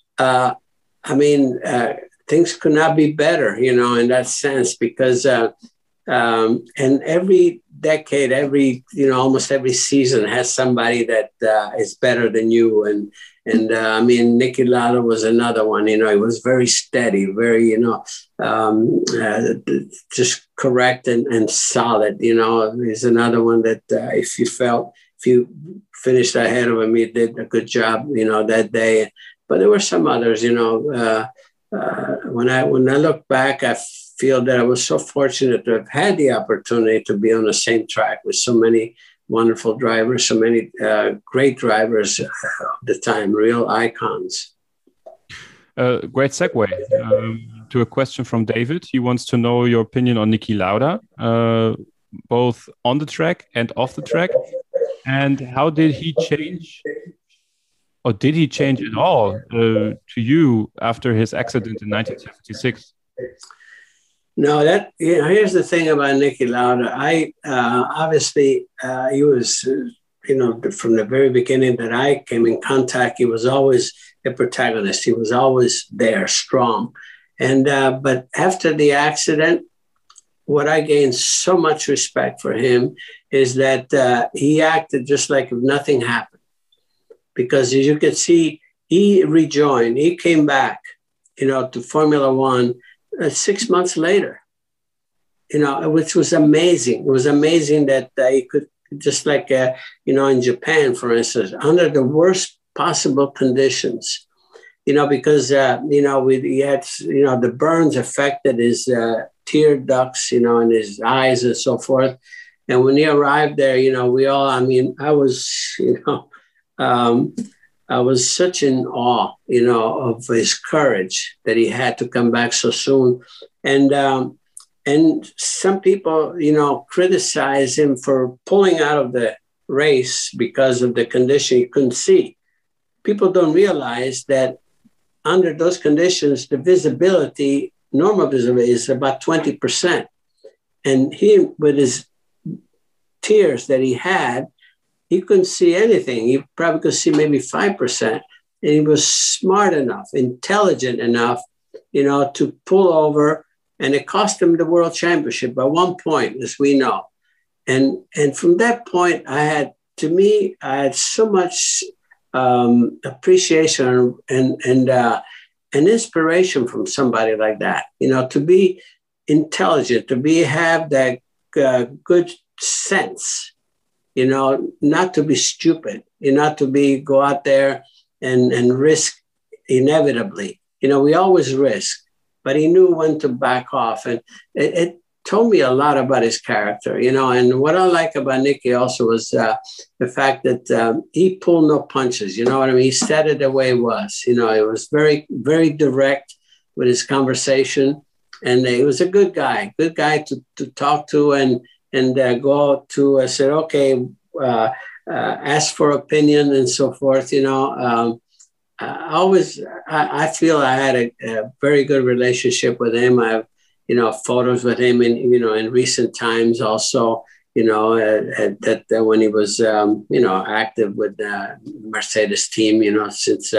things could not be better, in that sense, because and every decade, almost every season has somebody that is better than you. And Niki Lauda was another one. He was very steady, very, just correct and solid. He's another one that if you finished ahead of him, he did a good job, that day. But there were some others, when I look back, I feel that I was so fortunate to have had the opportunity to be on the same track with so many wonderful drivers, so many great drivers of the time, real icons. Great segue to a question from David. He wants to know your opinion on Niki Lauda, both on the track and off the track. And how did he change, or did he change at all to you after his accident in 1976? No, here's the thing about Niki Lauda. Obviously, he was, from the very beginning that I came in contact, he was always a protagonist. He was always there, strong. And but after the accident, what I gained so much respect for him is that he acted just like if nothing happened. Because as you can see, he rejoined, he came back, to Formula One 6 months later, which was amazing. It was amazing that he could, just like, in Japan, for instance, under the worst possible conditions, because, he had, the burns affected his tear ducts, in his eyes and so forth. And when he arrived there, I was such in awe, of his courage that he had to come back so soon. And some people, criticize him for pulling out of the race because of the condition he couldn't see. People don't realize that under those conditions, the visibility, normal visibility, is about 20%. And he, with his tears that he had, he couldn't see anything. He probably could see maybe 5%. And he was smart enough, intelligent enough, to pull over. And it cost him the world championship by 1 point, as we know. And from that point, I had so much appreciation and inspiration from somebody like that. To be intelligent, have that good sense. Not to be stupid, not to go out there and risk inevitably. We always risk. but he knew when to back off. And it told me a lot about his character, and what I like about Nicky also was the fact that he pulled no punches, you know what I mean? He said it the way it was, he was very, very direct with his conversation, and he was a good guy to talk to and go out to say, okay, ask for opinion and so forth, I feel I had a very good relationship with him. I have, photos with him in recent times also, that when he was, active with the Mercedes team, since,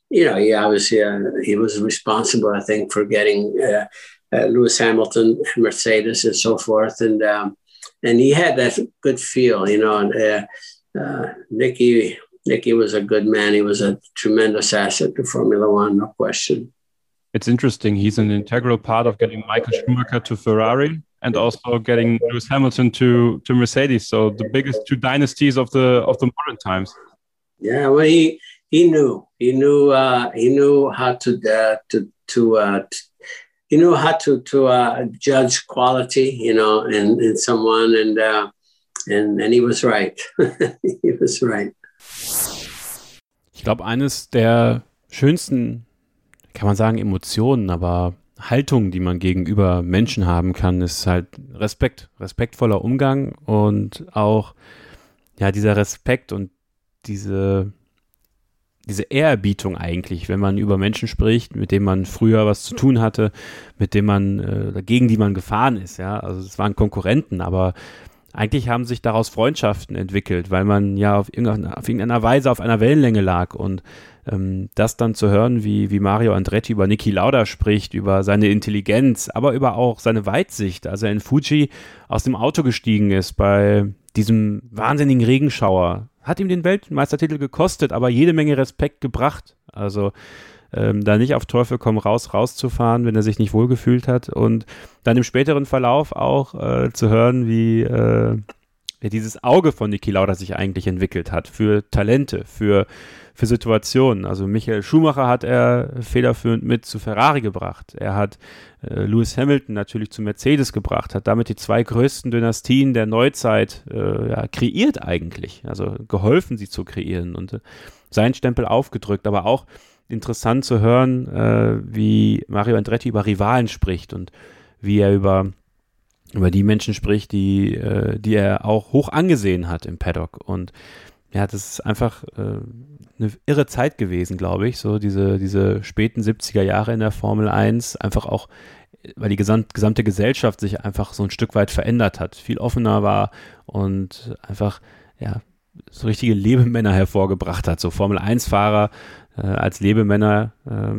he was responsible, I think, for getting Lewis Hamilton, Mercedes and so forth. And he had that good feel, Nicky was a good man. He was a tremendous asset to Formula One, no question. It's interesting. He's an integral part of getting Michael Schumacher to Ferrari and also getting Lewis Hamilton to Mercedes. So the biggest two dynasties of the modern times. Yeah, well, he knew how to judge quality, in someone, and he was right. He was right. Ich glaube, eines der schönsten, kann man sagen, Emotionen, aber Haltung, die man gegenüber Menschen haben kann, ist halt Respekt, respektvoller Umgang und auch dieser Respekt und diese Ehrerbietung eigentlich, wenn man über Menschen spricht, mit denen man früher was zu tun hatte, mit denen man gegen die man gefahren ist, ja, also es waren Konkurrenten, aber eigentlich haben sich daraus Freundschaften entwickelt, weil man ja auf irgendeiner Weise auf einer Wellenlänge lag und das dann zu hören, wie Mario Andretti über Niki Lauda spricht, über seine Intelligenz, aber über auch seine Weitsicht, als er in Fuji aus dem Auto gestiegen ist bei diesem wahnsinnigen Regenschauer, hat ihm den Weltmeistertitel gekostet, aber jede Menge Respekt gebracht, also da nicht auf Teufel komm rauszufahren, wenn er sich nicht wohlgefühlt hat und dann im späteren Verlauf auch zu hören, wie dieses Auge von Niki Lauda sich eigentlich entwickelt hat für Talente, für Situationen. Also Michael Schumacher hat er federführend mit zu Ferrari gebracht. Er hat Lewis Hamilton natürlich zu Mercedes gebracht, hat damit die zwei größten Dynastien der Neuzeit kreiert eigentlich, also geholfen, sie zu kreieren und seinen Stempel aufgedrückt, aber auch interessant zu hören, wie Mario Andretti über Rivalen spricht und wie er über die Menschen spricht, die er auch hoch angesehen hat im Paddock. Und ja, das ist einfach eine irre Zeit gewesen, glaube ich, so diese späten 70er Jahre in der Formel 1, einfach auch, weil die gesamte Gesellschaft sich einfach so ein Stück weit verändert hat, viel offener war und einfach, so richtige Lebemänner hervorgebracht hat, so Formel-1-Fahrer als Lebemänner,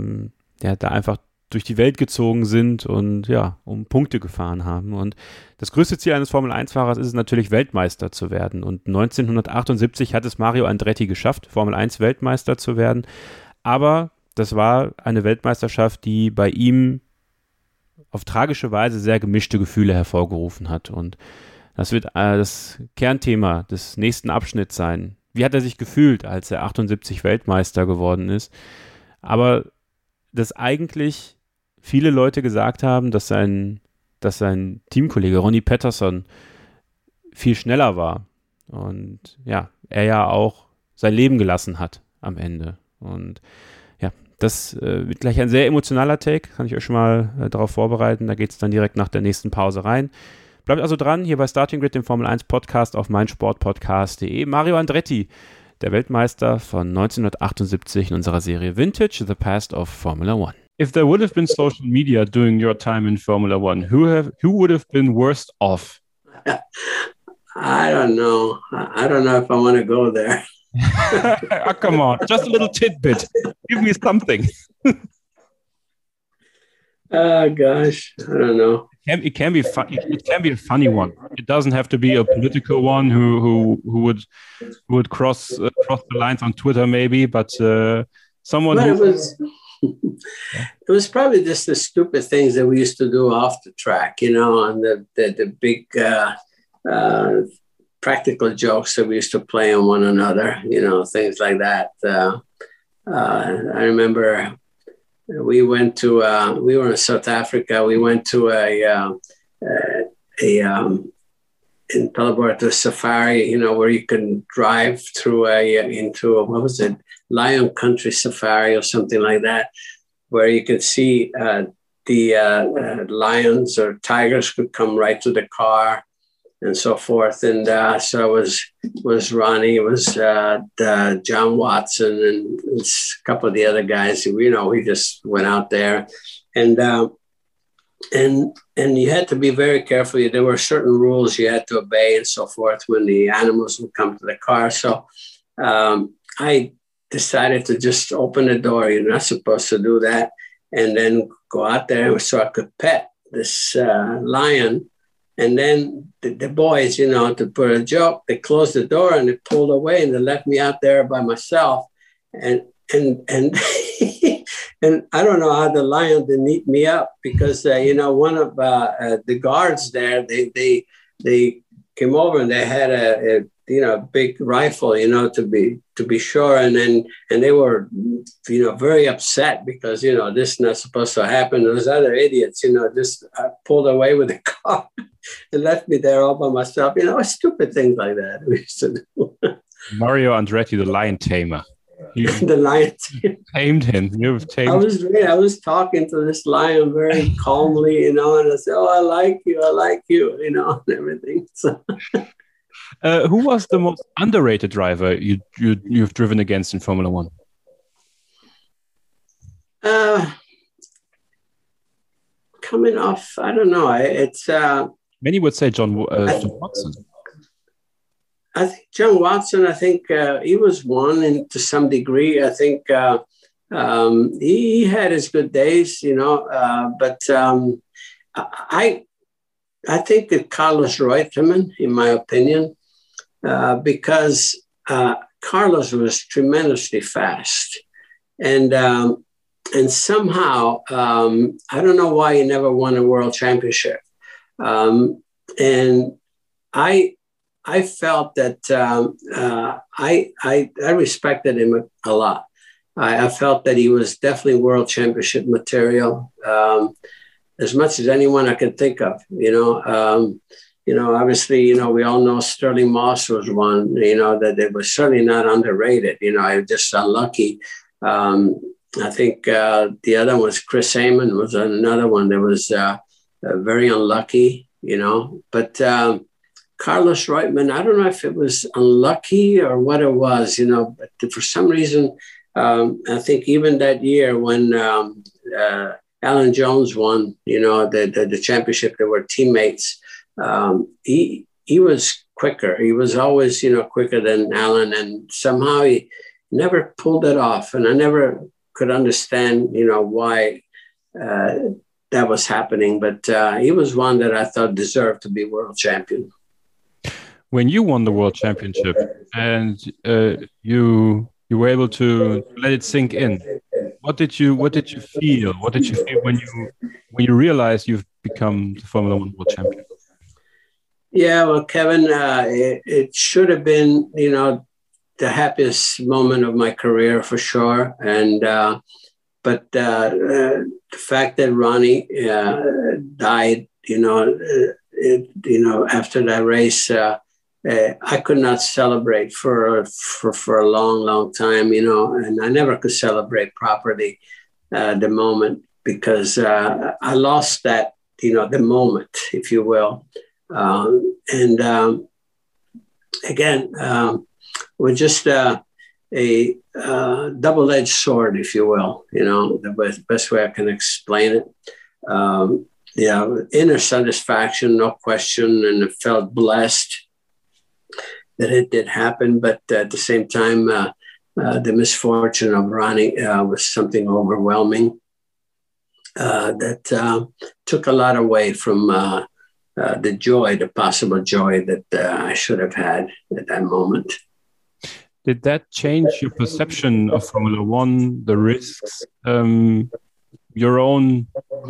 da einfach durch die Welt gezogen sind und um Punkte gefahren haben. Und das größte Ziel eines Formel-1-Fahrers ist es natürlich, Weltmeister zu werden. Und 1978 hat es Mario Andretti geschafft, Formel-1-Weltmeister zu werden. Aber das war eine Weltmeisterschaft, die bei ihm auf tragische Weise sehr gemischte Gefühle hervorgerufen hat. Und das wird das Kernthema des nächsten Abschnitts sein. Wie hat er sich gefühlt, als er 78 Weltmeister geworden ist? Aber dass eigentlich viele Leute gesagt haben, dass sein Teamkollege Ronnie Peterson viel schneller war und er ja auch sein Leben gelassen hat am Ende. Und das wird gleich ein sehr emotionaler Take, kann ich euch schon mal darauf vorbereiten. Da geht es dann direkt nach der nächsten Pause rein. Bleibt also dran, hier bei Starting Grid, dem Formel 1 Podcast auf meinsportpodcast.de. Mario Andretti, der Weltmeister von 1978 in unserer Serie Vintage, The Past of Formula One. If there would have been social media during your time in Formula One, who would have been worst off? I don't know. I don't know if I want to go there. Oh, come on, just a little tidbit. Give me something. Oh gosh, I don't know. It can be fun. It can be a funny one. It doesn't have to be a political one who would cross the lines on Twitter maybe, but someone. Well, it was probably just the stupid things that we used to do off the track, and the big practical jokes that we used to play on one another, things like that. I remember we went to we were in South Africa. We went to in Pelleborto safari, where you can drive through what was it, Lion Country Safari or something like that, where you could see the lions or tigers could come right to the car and so forth. And so it was Ronnie, it was John Watson and a couple of the other guys. We just went out there, and you had to be very careful. There were certain rules you had to obey and so forth when the animals would come to the car. So I decided to just open the door. You're not supposed to do that. And then go out there so I could pet this lion. And then the boys, to put a joke, they closed the door and they pulled away and they left me out there by myself. And and I don't know how the lion didn't eat me up, because one of the guards there, they came over and they had a big rifle, to be sure, and they were very upset because this is not supposed to happen. Those other idiots just pulled away with the car and left me there all by myself. Stupid things like that we used to do. Mario Andretti, the lion tamer. The lion tamed him. You've tamed. I was talking to this lion very calmly, and I said, "Oh, I like you," and everything. So. Who was the most underrated driver you've driven against in Formula One? Coming off, I don't know. It's many would say John Watson. I think John Watson. I think he was one, and to some degree, I think he had his good days, But I think that Carlos Reutemann, in my opinion, because Carlos was tremendously fast, and somehow I don't know why he never won a world championship, and I felt that I respected him a lot. I felt that he was definitely world championship material. As much as anyone I could think of, obviously, we all know Sterling Moss was one, that they were certainly not underrated. I was just unlucky. I think the other was Chris Amon was another one that was very unlucky, but Carlos Reutemann, I don't know if it was unlucky or what it was, but for some reason, I think even that year when Alan Jones won, the championship. They were teammates. He was quicker. He was always, quicker than Alan, and somehow he never pulled it off. And I never could understand, why that was happening. But he was one that I thought deserved to be world champion. When you won the world championship and you were able to let it sink in, what did you feel? What did you feel when you realized you've become the Formula One world champion? Yeah, well, Kevin, it should have been, the happiest moment of my career for sure. And but the fact that Ronnie died, after that race, I could not celebrate for a long, long time, and I never could celebrate properly the moment because I lost that, the moment, if you will. Again, we're just a double-edged sword, if you will, the best way I can explain it. Inner satisfaction, no question, and I felt blessed that it did happen, but at the same time, the misfortune of Ronnie was something overwhelming that took a lot away from the possible joy that I should have had at that moment. Did that change your perception of Formula One, the risks, your own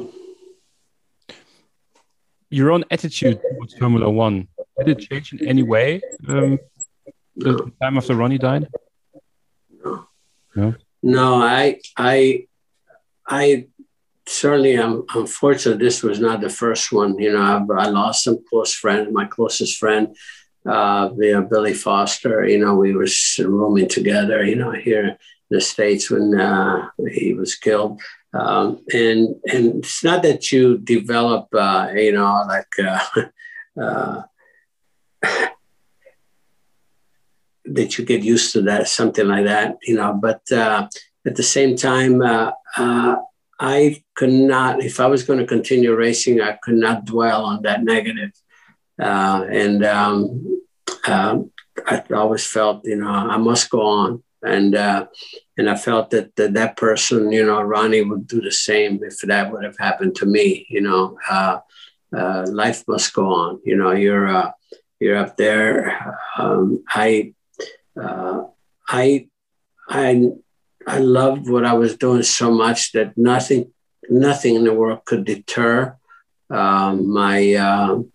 attitude towards Formula One? Did it change in any way the time after Ronnie died? No, I I certainly am unfortunate this was not the first one. I lost some close friends. My closest friend, Billy Foster, we were rooming together, here in the States when he was killed. And it's not that you develop, that you get used to that, something like that, but at the same time, I could not, if I was going to continue racing, I could not dwell on that negative. I always felt, I must go on. And I felt that person, Ronnie would do the same if that would have happened to me. Life must go on. You're up there. I loved what I was doing so much that nothing in the world could deter my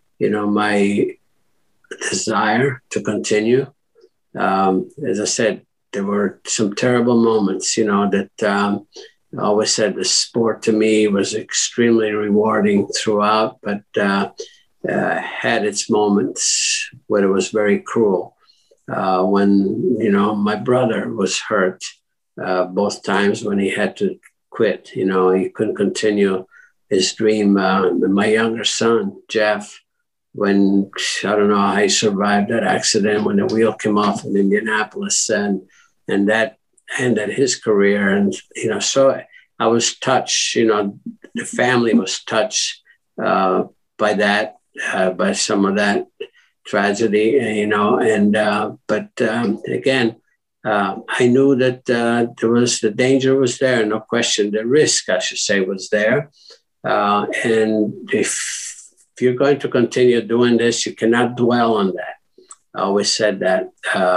desire to continue. As I said, there were some terrible moments, that I always said the sport to me was extremely rewarding throughout, but had its moments where it was very cruel. When, my brother was hurt both times when he had to quit, he couldn't continue his dream. My younger son, Jeff, when I don't know how he survived that accident when the wheel came off in Indianapolis and that ended his career. And, so I was touched, the family was touched by that, by some of that tragedy, but again, I knew that the danger was there, no question. The risk, I should say, was there. And if you're going to continue doing this, you cannot dwell on that. I always said that.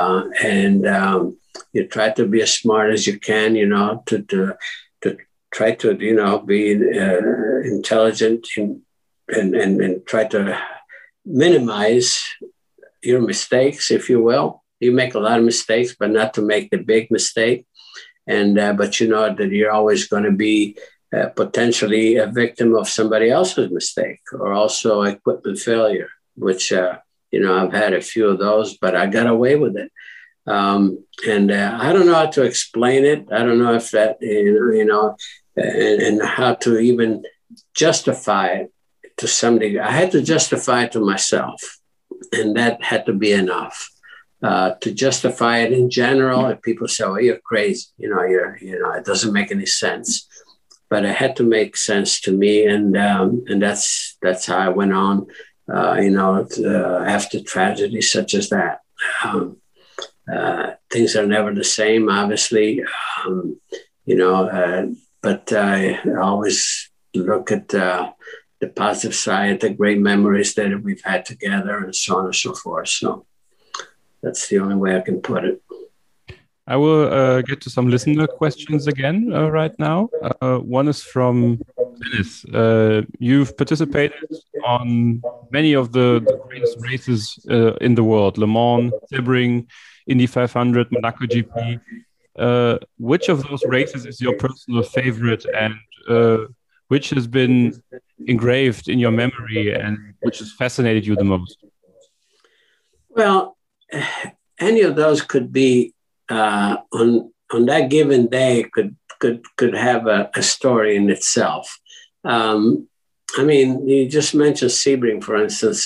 You try to be as smart as you can, to try to, be intelligent and try to minimize your mistakes, if you will. You make a lot of mistakes, but not to make the big mistake. And but that you're always going to be potentially a victim of somebody else's mistake or also equipment failure, which I've had a few of those, but I got away with it. And I don't know how to explain it. I don't know if that and how to even justify it to some degree. I had to justify it to myself, and that had to be enough. To justify it in general, if people say, "Oh, you're crazy," it doesn't make any sense. But it had to make sense to me, and that's how I went on. After tragedy such as that, things are never the same, obviously. But I always look at the positive side, the great memories that we've had together, and so on and so forth. So that's the only way I can put it. I will get to some listener questions again right now. One is from Dennis. You've participated on many of the greatest races in the world: Le Mans, Sebring, Indy 500, Monaco GP. Which of those races is your personal favorite, and which has been engraved in your memory and which has fascinated you the most? Well, any of those could be on that given day could have a story in itself. You just mentioned Sebring, for instance.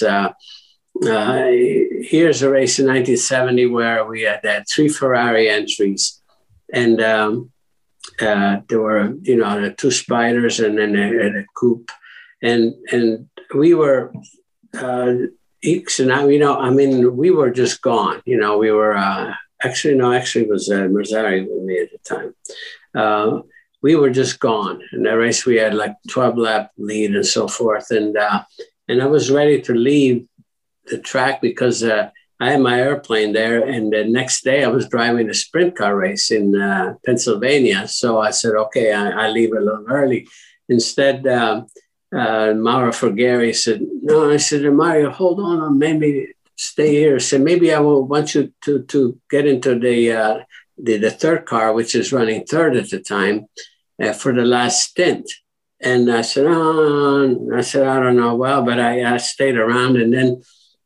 Here's a race in 1970 where we had 3 Ferrari entries, and there were the 2 Spiders and then a coupe, and we were. Eeks and I, we were just gone. We were actually it was Mazzari with me at the time. We were just gone. In that race, we had like 12-lap lead and so forth. And I was ready to leave the track because I had my airplane there. And the next day, I was driving a sprint car race in Pennsylvania. So I said, okay, I leave a little early. Instead, Mauro Fergari said, no, I said, Mario, hold on, maybe stay here. I said, maybe I will want you to get into the third car, which is running third at the time. for the last stint. And I said, I don't know. Well, but I stayed around. And then,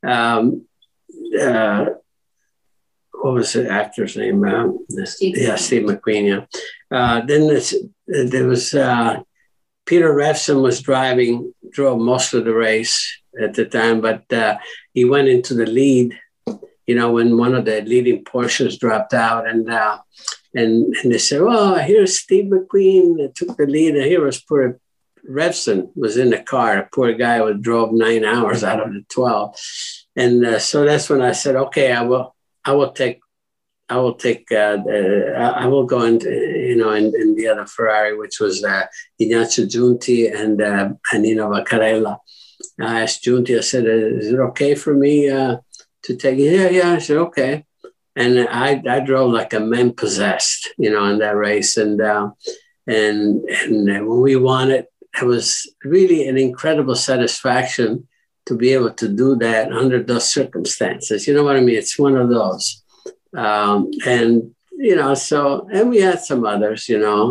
what was the actor's name? Steve McQueen. Yeah. Then there was Peter Revson drove most of the race at the time, but he went into the lead. When one of the leading Porsches dropped out, and they said, "Well, here's Steve McQueen that took the lead, and here was poor Revson was in the car. A poor guy who drove 9 hours out of the 12." And so that's when I said, "Okay, I will go into in the other Ferrari, which was Ignazio Giunti and Nino Vaccarella." I asked Giunti, I said, "Is it okay for me to take it?" Yeah. I said, "Okay." And I drove like a man possessed, in that race. And when we won it, it was really an incredible satisfaction to be able to do that under those circumstances. You know what I mean? It's one of those. And we had some others,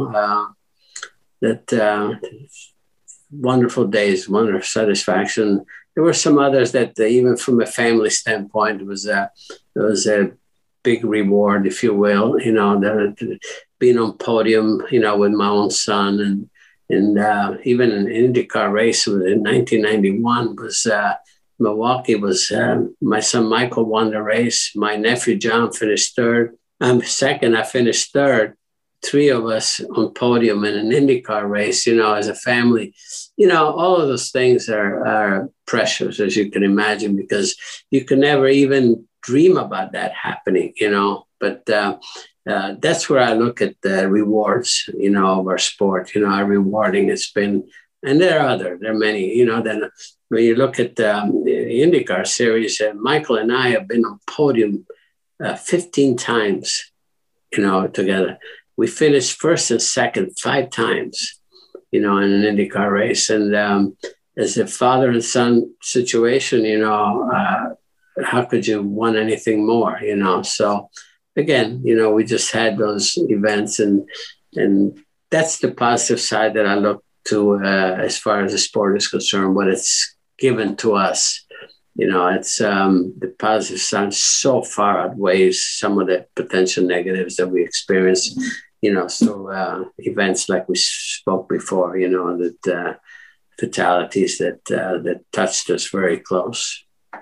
that wonderful days, wonderful satisfaction. There were some others that even from a family standpoint, it was a big reward, if you will, being on podium, with my own son, and even an IndyCar race in 1991 was Milwaukee was my son Michael won the race. My nephew John finished third. I'm second. I finished third. 3 of us on podium in an IndyCar race, as a family. All of those things are precious, as you can imagine, because you can never even dream about that happening, But that's where I look at the rewards, of our sport, how rewarding it's been. And there are many, Then when you look at the IndyCar series, Michael and I have been on podium 15 times, together. We finished first and second 5 times, in an IndyCar race. And as a father and son situation, how could you want anything more, So again, we just had those events, and that's the positive side that I look to as far as the sport is concerned, what it's given to us. It's the positive side so far outweighs some of the potential negatives that we experience, through events like we spoke before, that fatalities that touched us very close.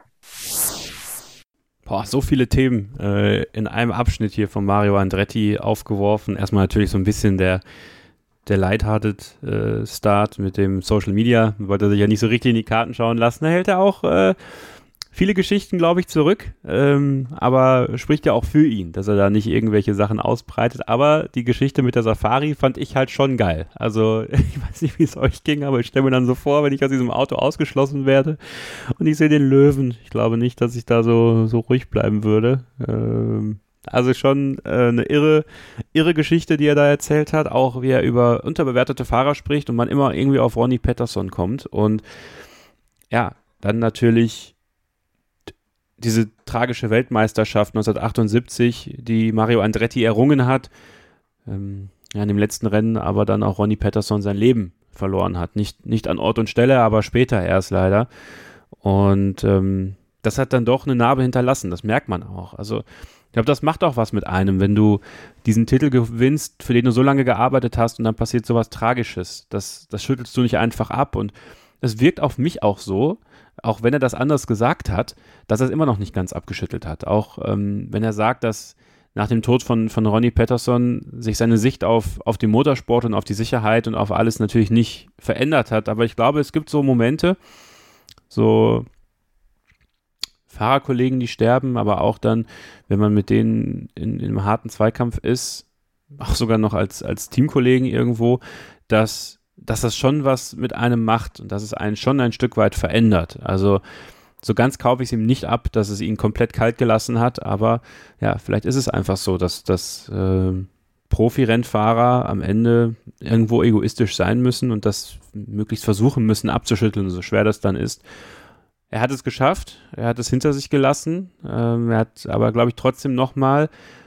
Boah, so viele Themen in einem Abschnitt hier von Mario Andretti aufgeworfen. Erstmal natürlich so ein bisschen der lighthearted Start mit dem Social Media. Wollte er sich ja nicht so richtig in die Karten schauen lassen. Da hält er auch viele Geschichten, glaube ich, zurück. Aber spricht ja auch für ihn, dass er da nicht irgendwelche Sachen ausbreitet. Aber die Geschichte mit der Safari fand ich halt schon geil. Also ich weiß nicht, wie es euch ging, aber ich stelle mir dann so vor, wenn ich aus diesem Auto ausgeschlossen werde und ich sehe den Löwen. Ich glaube nicht, dass ich da so ruhig bleiben würde. Also schon eine irre Geschichte, die er da erzählt hat, auch wie er über unterbewertete Fahrer spricht und man immer irgendwie auf Ronnie Peterson kommt. Und ja, dann natürlich diese tragische Weltmeisterschaft 1978, die Mario Andretti errungen hat, in dem letzten Rennen aber dann auch Ronnie Peterson sein Leben verloren hat. Nicht an Ort und Stelle, aber später erst leider. Und das hat dann doch eine Narbe hinterlassen, das merkt man auch. Also ich glaube, das macht auch was mit einem, wenn du diesen Titel gewinnst, für den du so lange gearbeitet hast und dann passiert sowas Tragisches. Das schüttelst du nicht einfach ab und es wirkt auf mich auch so, auch wenn er das anders gesagt hat, dass er es immer noch nicht ganz abgeschüttelt hat. Auch wenn er sagt, dass nach dem Tod von Ronnie Peterson sich seine Sicht auf den Motorsport und auf die Sicherheit und auf alles natürlich nicht verändert hat. Aber ich glaube, es gibt so Momente, so Fahrerkollegen, die sterben, aber auch dann, wenn man mit denen in einem harten Zweikampf ist, auch sogar noch als Teamkollegen irgendwo, dass das schon was mit einem macht und dass es einen schon ein Stück weit verändert. Also so ganz kaufe ich es ihm nicht ab, dass es ihn komplett kalt gelassen hat, aber ja, vielleicht ist es einfach so, dass Profi-Rennfahrer am Ende irgendwo egoistisch sein müssen und das möglichst versuchen müssen abzuschütteln, so schwer das dann ist. Er hat es geschafft, er hat es hinter sich gelassen, er hat aber, glaube ich, trotzdem nochmal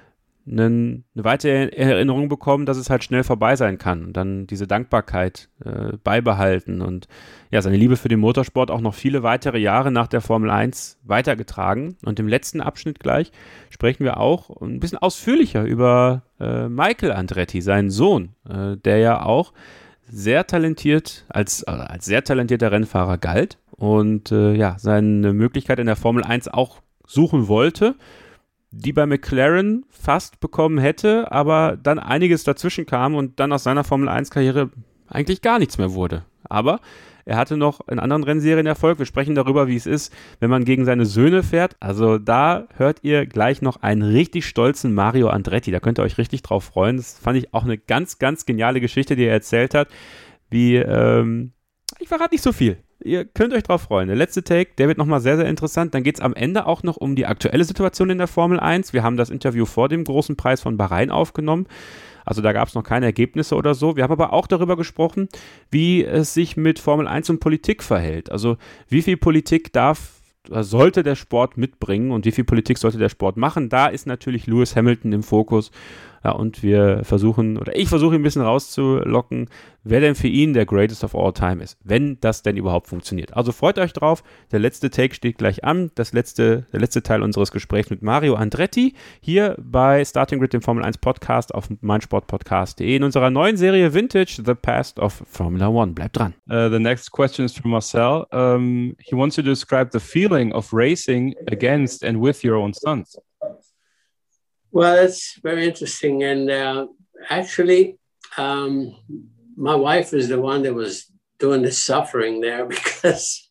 eine weitere Erinnerung bekommen, dass es halt schnell vorbei sein kann und dann diese Dankbarkeit beibehalten und ja, seine Liebe für den Motorsport auch noch viele weitere Jahre nach der Formel 1 weitergetragen. Und im letzten Abschnitt gleich sprechen wir auch ein bisschen ausführlicher über Michael Andretti, seinen Sohn, der ja auch sehr talentiert, als sehr talentierter Rennfahrer galt und seine Möglichkeit in der Formel 1 auch suchen wollte, die bei McLaren fast bekommen hätte, aber dann einiges dazwischen kam und dann aus seiner Formel-1-Karriere eigentlich gar nichts mehr wurde. Aber er hatte noch in anderen Rennserien Erfolg. Wir sprechen darüber, wie es ist, wenn man gegen seine Söhne fährt. Also da hört ihr gleich noch einen richtig stolzen Mario Andretti. Da könnt ihr euch richtig drauf freuen. Das fand ich auch eine ganz, ganz geniale Geschichte, die er erzählt hat. Ich verrate nicht so viel. Ihr könnt euch drauf freuen. Der letzte Take, der wird nochmal sehr, sehr interessant. Dann geht es am Ende auch noch um die aktuelle Situation in der Formel 1. Wir haben das Interview vor dem großen Preis von Bahrain aufgenommen. Also da gab es noch keine Ergebnisse oder so. Wir haben aber auch darüber gesprochen, wie es sich mit Formel 1 und Politik verhält. Also wie viel Politik sollte der Sport mitbringen und wie viel Politik sollte der Sport machen. Da ist natürlich Lewis Hamilton im Fokus. Ja, und ich versuche ihn ein bisschen rauszulocken, wer denn für ihn der Greatest of All Time ist, wenn das denn überhaupt funktioniert. Also freut euch drauf, der letzte Take steht gleich an, der letzte Teil unseres Gesprächs mit Mario Andretti, hier bei Starting Grid, dem Formel 1 Podcast auf meinsportpodcast.de in unserer neuen Serie Vintage, The Past of Formula One. Bleibt dran. The next question is from Marcel. He wants you to describe the feeling of racing against and with your own sons. Well, that's very interesting. And actually, my wife is the one that was doing the suffering there because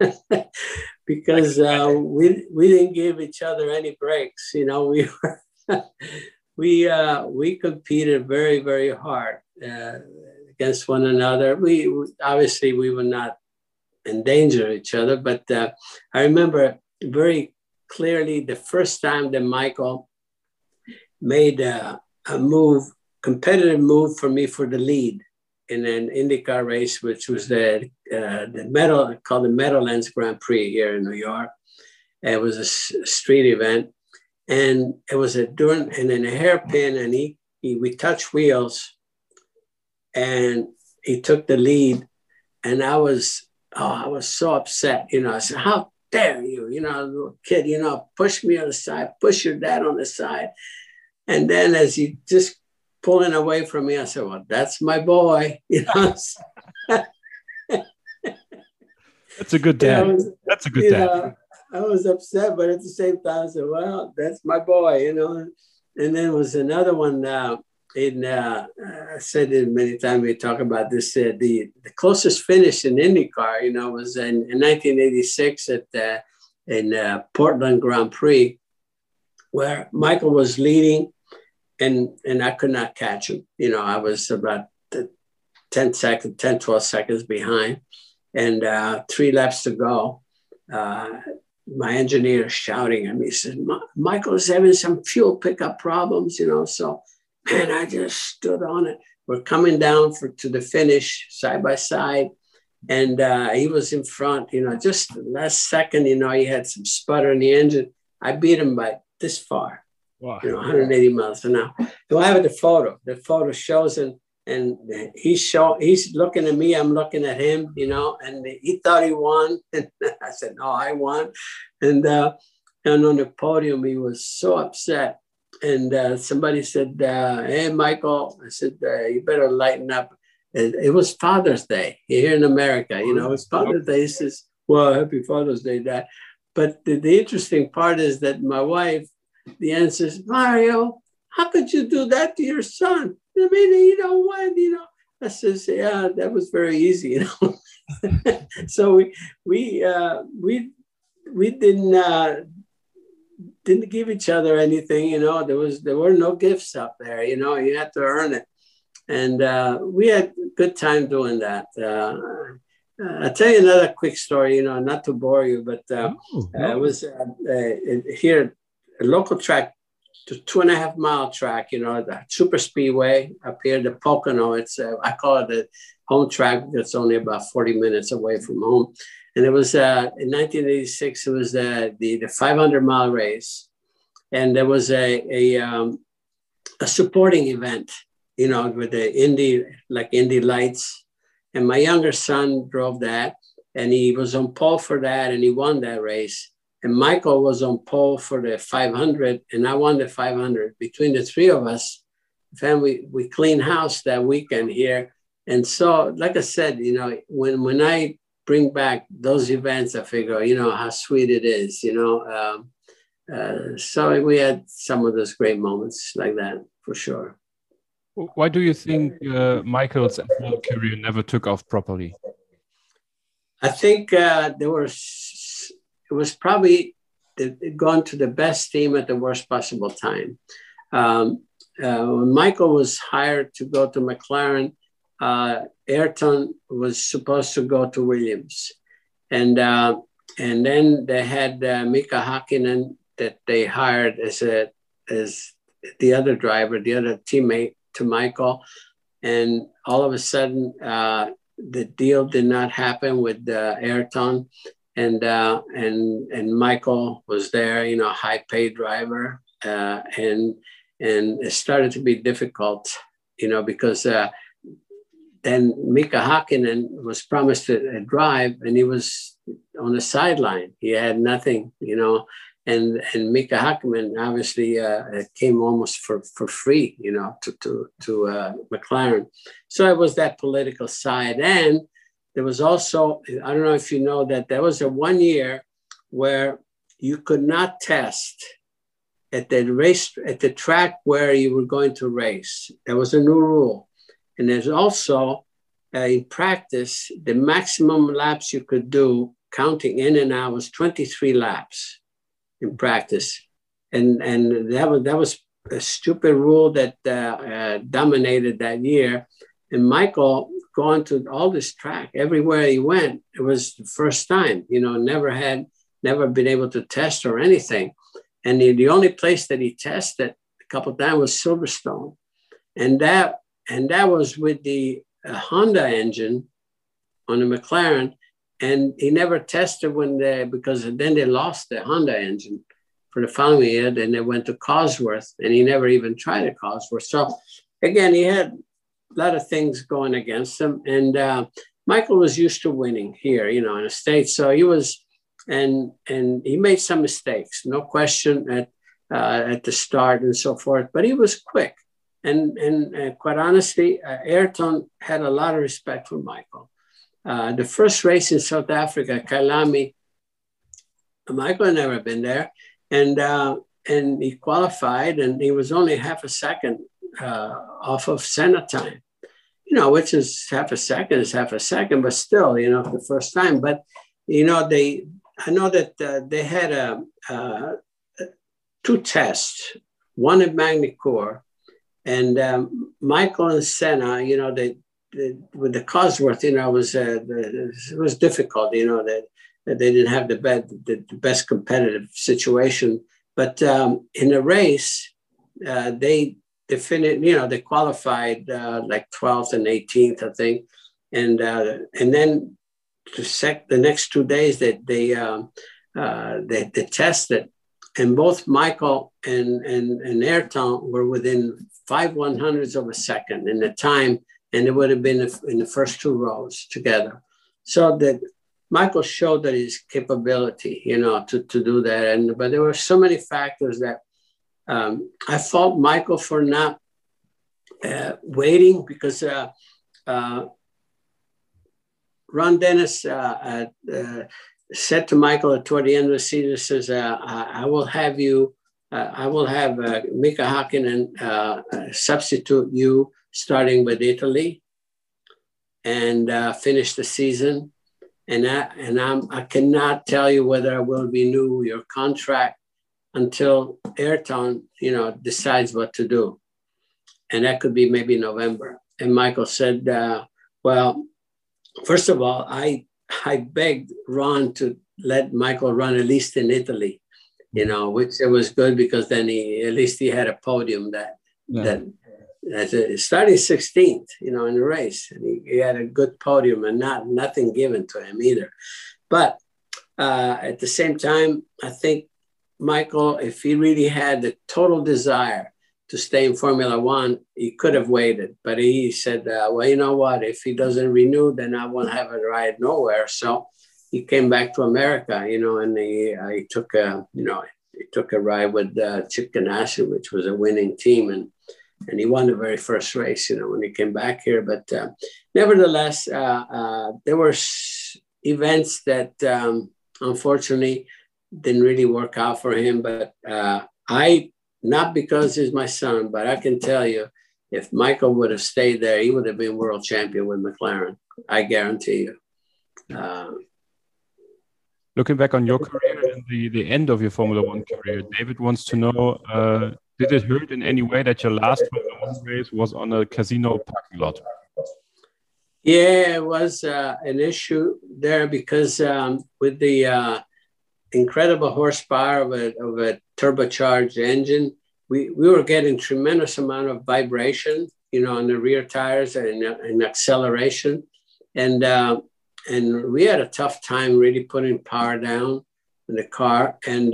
we didn't give each other any breaks. You know, we competed very, very hard against one another. We obviously would not endanger each other, but I remember very clearly the first time that Michael made a competitive move for me for the lead in an IndyCar race, which was the Meadowlands Grand Prix here in New York. It was a street event, and it was in a hairpin, and we touched wheels, and he took the lead, and I was so upset. You know, I said, "How dare you? You know, little kid, you know, push me on the side, push your dad on the side." And then as he just pulling away from me, I said, well, that's my boy. You know? That's a good dad. That's a good dad. I was upset, but at the same time, I said, well, that's my boy, you know. And then there was another one. I said it many times, we talk about this. The closest finish in IndyCar, you know, was in 1986 in Portland Grand Prix, where Michael was leading. And I could not catch him. You know, I was about 12 seconds behind, and 3 laps to go. My engineer is shouting at me. He said, Michael's having some fuel pickup problems, you know. So, man, I just stood on it. We're coming down to the finish side by side. And he was in front, you know, just the last second, you know, he had some sputter in the engine. I beat him by this far. Wow. You know, 180 miles an hour. So I have the photo. The photo shows, and he's looking at me. I'm looking at him. You know, and he thought he won, and I said, "No, I won." And on the podium, he was so upset. And somebody said, "Hey, Michael," I said, "You better lighten up." It was Father's Day here in America. You know, it's Father's Day. He says, "Well, happy Father's Day, Dad." But the interesting part is that my wife. The answer is, Mario, how could you do that to your son? I mean, you know what, you know. I says, yeah, that was very easy, you know. So we didn't give each other anything, you know. There were no gifts up there, you know. You had to earn it, and we had a good time doing that. I'll tell you another quick story, you know, not to bore you, but it was here. A local track, the 2.5 mile track, you know, the super speedway up here, the Pocono. It's I call it the home track because it's only about 40 minutes away from home. And it was in 1986. It was the 500 mile race, and there was a a supporting event, with the Indy Lights. And my younger son drove that, and he was on pole for that, and he won that race. And Michael was on pole for the 500, and I won the 500. Between the three of us, we cleaned house that weekend here. And so, like I said, when I bring back those events, I figure, how sweet it is, so we had some of those great moments like that, for sure. Why do you think Michael's F1 career never took off properly? I think it was probably gone to the best team at the worst possible time. When Michael was hired to go to McLaren, Ayrton was supposed to go to Williams. And then they had Mika Hakkinen that they hired as the other driver, the other teammate to Michael. And all of a sudden, the deal did not happen with Ayrton. And Michael was there, high paid driver. And it started to be difficult, because then Mika Hakkinen was promised a drive, and he was on the sideline. He had nothing, and Mika Hakkinen obviously came almost for free, to McLaren. So it was that political side. And there was also, I don't know if you know that there was a 1 year where you could not test at the track where you were going to race. There was a new rule. And there's also, in practice, the maximum laps you could do, counting in and out, was 23 laps in practice. And that was a stupid rule that dominated that year. And Michael, going to all this track, everywhere he went, it was the first time, never been able to test or anything. And the only place that he tested a couple of times was Silverstone. And that was with the Honda engine on the McLaren. And he never tested because then they lost the Honda engine for the following year. Then they went to Cosworth, and he never even tried a Cosworth. So again, he had a lot of things going against him. And Michael was used to winning here, in the States. So he was, and he made some mistakes, no question, at the start and so forth. But he was quick. And quite honestly, Ayrton had a lot of respect for Michael. The first race in South Africa, Kyalami, Michael had never been there. And he qualified, and he was only half a second off of Senna time, which is half a second, but still, the first time. But, I know that they had two tests, one at Magny-Cours, and Michael and Senna, with the Cosworth, it was difficult, that they didn't have the best competitive situation. But in the race, they finished, they qualified like 12th and 18th, I think. And then the next 2 days that they tested, and both Michael and Ayrton were within 5/100ths of a second in the time, and it would have been in the first two rows together. So that Michael showed that his capability, to do that. But there were so many factors that I fault Michael for not waiting, because Ron Dennis said to Michael toward the end of the season, says, I will have Mika Hakkinen substitute you starting with Italy and finish the season. And I cannot tell you whether I will renew your contract until Ayrton, decides what to do. And that could be maybe November. And Michael said, well, first of all, I begged Ron to let Michael run at least in Italy, which it was good, because then at least he had a podium that starting 16th, in the race. And he had a good podium and nothing given to him either. But at the same time, I think Michael, if he really had the total desire to stay in Formula One, he could have waited. But he said, well, you know what? If he doesn't renew, then I won't have a ride nowhere. So he came back to America, and he took a ride with Chip Ganassi, which was a winning team. And he won the very first race, when he came back here. But nevertheless, there were events that unfortunately didn't really work out for him. But not because he's my son, but I can tell you, if Michael would have stayed there, he would have been world champion with McLaren. I guarantee you. Looking back on your career and the end of your Formula One career, David wants to know, did it hurt in any way that your last Formula One race was on a casino parking lot? Yeah, it was an issue there because with the incredible horsepower of a turbocharged engine, we were getting tremendous amount of vibration, on the rear tires and acceleration. And we had a tough time really putting power down in the car. And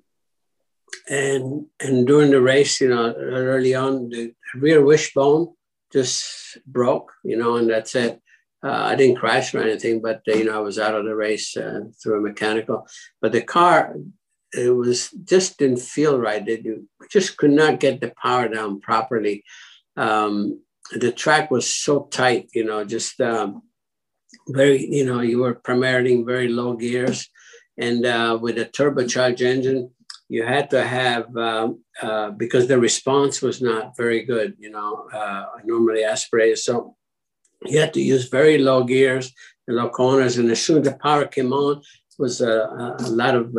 during the race, early on, the rear wishbone just broke, and that's it. I didn't crash or anything, but, I was out of the race through a mechanical. But the car, just didn't feel right. We just could not get the power down properly. The track was so tight, just very, you were primarily very low gears. And with a turbocharged engine, you had to have, because the response was not very good, normally aspirated. So you had to use very low gears and low corners. And as soon as the power came on, it was a lot of,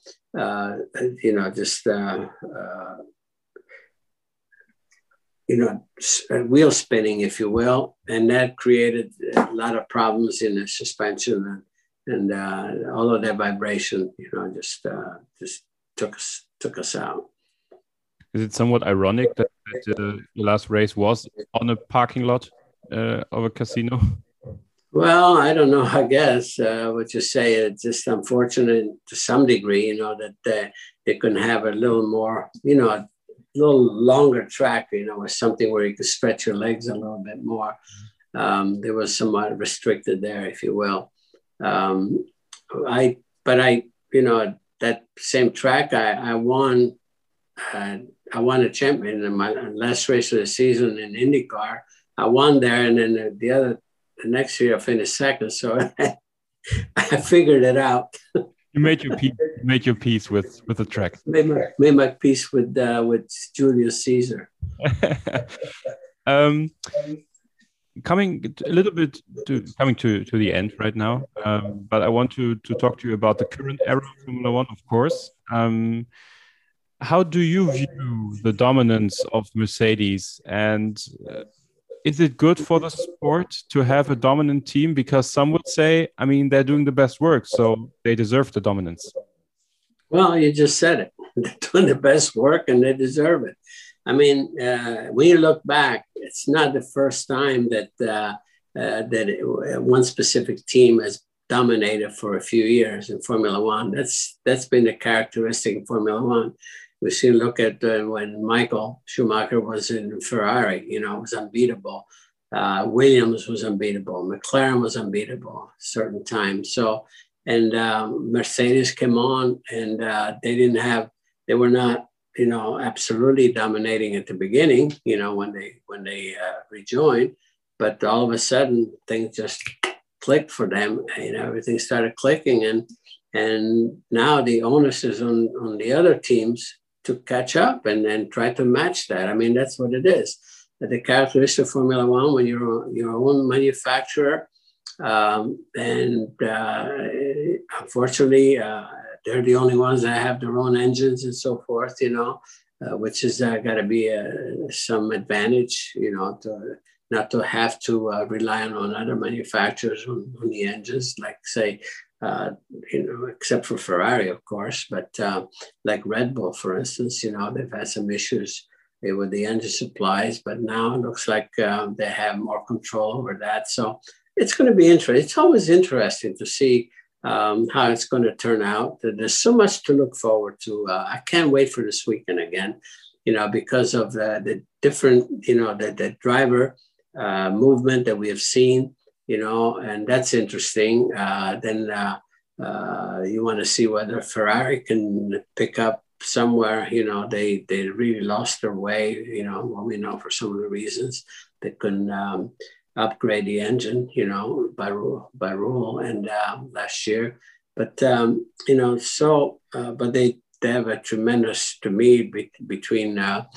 wheel spinning, if you will. And that created a lot of problems in the suspension. And all of that vibration, just took us out. Is it somewhat ironic that the last race was on a parking lot of a casino? Well, I don't know. I guess what you say, it's just unfortunate to some degree, that they couldn't have a little more, a little longer track, or something where you could stretch your legs a little bit more. There was somewhat restricted there, if you will. That same track, I won a champion in my last race of the season in IndyCar. I won there, and then the next year I finished second. So I figured it out. You made your peace with the track. Made my peace with Julius Caesar. Coming a little bit to the end right now, but I want to talk to you about the current era of Formula One, of course. How do you view the dominance of Mercedes, and is it good for the sport to have a dominant team? Because some would say, they're doing the best work, so they deserve the dominance. Well, you just said it. They're doing the best work and they deserve it. When you look back, it's not the first time that one specific team has dominated for a few years in Formula One. That's been a characteristic in Formula One. We see, look at when Michael Schumacher was in Ferrari, was unbeatable. Williams was unbeatable. McLaren was unbeatable at certain times. So, and Mercedes came on, and they were not, absolutely dominating at the beginning, when they rejoined, but all of a sudden things just clicked for them. Everything started clicking, and now the onus is on the other teams to catch up and then try to match that. That's what it is. The characteristic of Formula One, when you're your own manufacturer, unfortunately, they're the only ones that have their own engines and so forth, which is got to be some advantage, not to have to rely on other manufacturers on the engines, like say, except for Ferrari, of course, but like Red Bull, for instance, they've had some issues with the engine supplies, but now it looks like they have more control over that. So it's going to be interesting. It's always interesting to see how it's going to turn out. There's so much to look forward to. I can't wait for this weekend again. because of the different, the driver movement that we have seen, and that's interesting. Then you want to see whether Ferrari can pick up somewhere. They really lost their way, we know for some of the reasons. They couldn't upgrade the engine, by rule and last year. But, but they have a tremendous, to me, between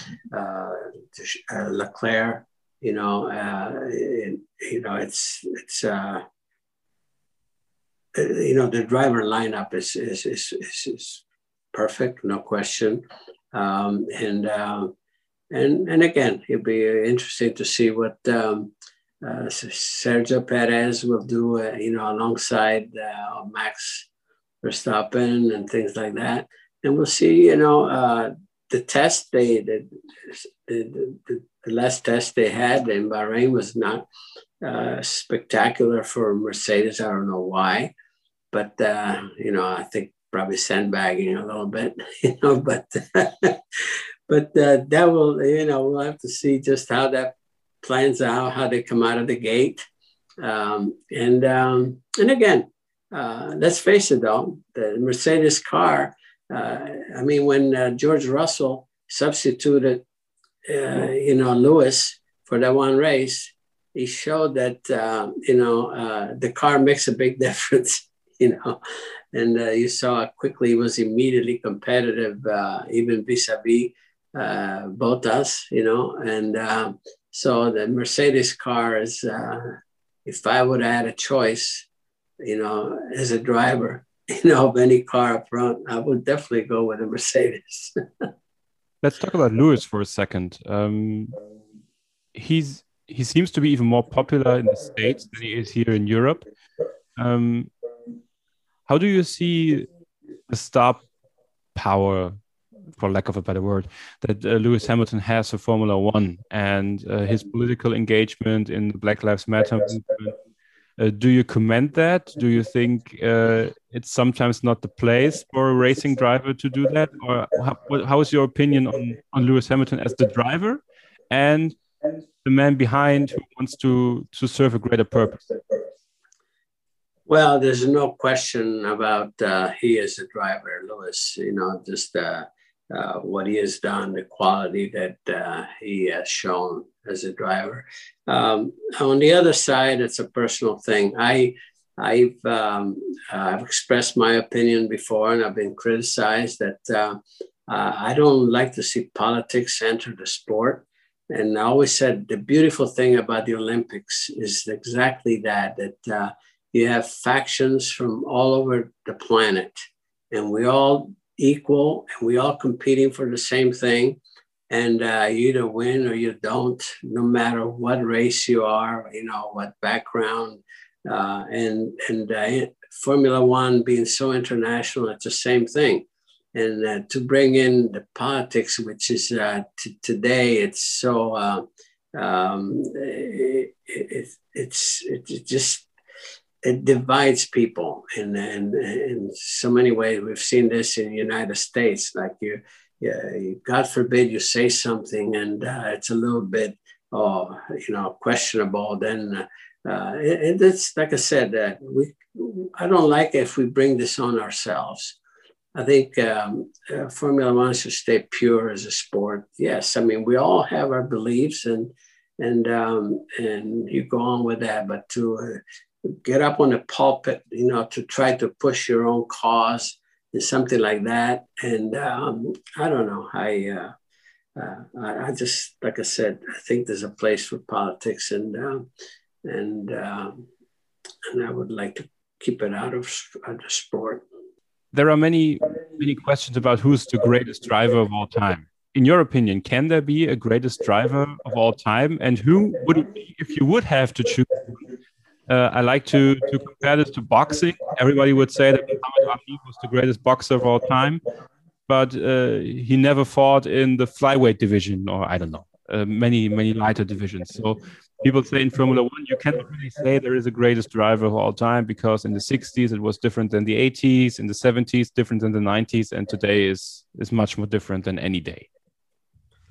Leclerc, the driver lineup is perfect, no question. And again, it'll be interesting to see what Sergio Perez will do, alongside Max Verstappen and things like that. And we'll see, the test the last test they had in Bahrain was not spectacular for Mercedes. I don't know why, but I think probably sandbagging a little bit, but that will, we'll have to see just how that plans out, how they come out of the gate. And again, let's face it though, the Mercedes car, when George Russell substituted, Lewis for that one race, he showed that, the car makes a big difference, and you saw how quickly he was immediately competitive, even vis-a-vis Bottas, and so the Mercedes car is, if I would have had a choice, as a driver, of any car up front, I would definitely go with a Mercedes. Let's talk about Lewis for a second. He seems to be even more popular in the States than he is here in Europe. How do you see the star power, for lack of a better word, that Lewis Hamilton has for Formula One and his political engagement in the Black Lives Matter movement? Do you commend that? Do you think it's sometimes not the place for a racing driver to do that? Or how is your opinion on Lewis Hamilton as the driver and the man behind who wants to serve a greater purpose? Well, there's no question about he is a driver, Lewis, just what he has done, the quality that he has shown as a driver. On the other side, it's a personal thing. I've expressed my opinion before, and I've been criticized that I don't like to see politics enter the sport. And I always said the beautiful thing about the Olympics is exactly that you have factions from all over the planet, and we all equal, and we all competing for the same thing. And you either win or you don't, no matter what race you are, what background. And Formula One being so international, it's the same thing. And to bring in the politics, which is today, it's so it divides people in so many ways. We've seen this in the United States, like you God forbid you say something and it's a little bit, questionable. Then it's like I said, that I don't like if we bring this on ourselves. I think Formula One should stay pure as a sport. Yes, we all have our beliefs and you go on with that, but to get up on the pulpit, to try to push your own cause and something like that. And I don't know. I just, like I said, I think there's a place for politics, and I would like to keep it out of the sport. There are many questions about who's the greatest driver of all time. In your opinion, can there be a greatest driver of all time? And who would it be if you would have to choose? I like to compare this to boxing. Everybody would say that Muhammad Ali was the greatest boxer of all time, but he never fought in the flyweight division, or I don't know, many lighter divisions. So people say in Formula One, you cannot really say there is a greatest driver of all time, because in the 60s it was different than the 80s, in the 70s different than the 90s, and today is much more different than any day.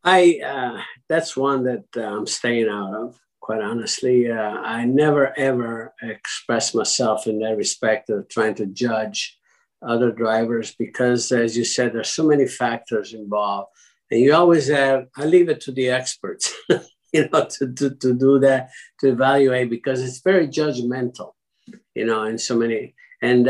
That's one that I'm staying out of, quite honestly. I never, ever express myself in that respect of trying to judge other drivers because, as you said, there's so many factors involved. And you always I leave it to the experts, to do that, to evaluate, because it's very judgmental, in so many. And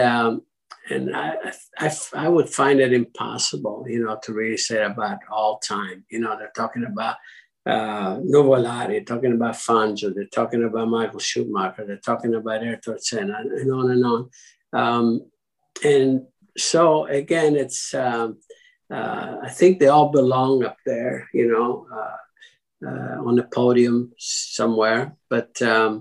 I would find it impossible, to really say about all time. They're talking about Nuvolari, talking about Fangio, they're talking about Michael Schumacher, they're talking about Ayrton Senna, and on and on. And so again, it's I think they all belong up there, on the podium somewhere. But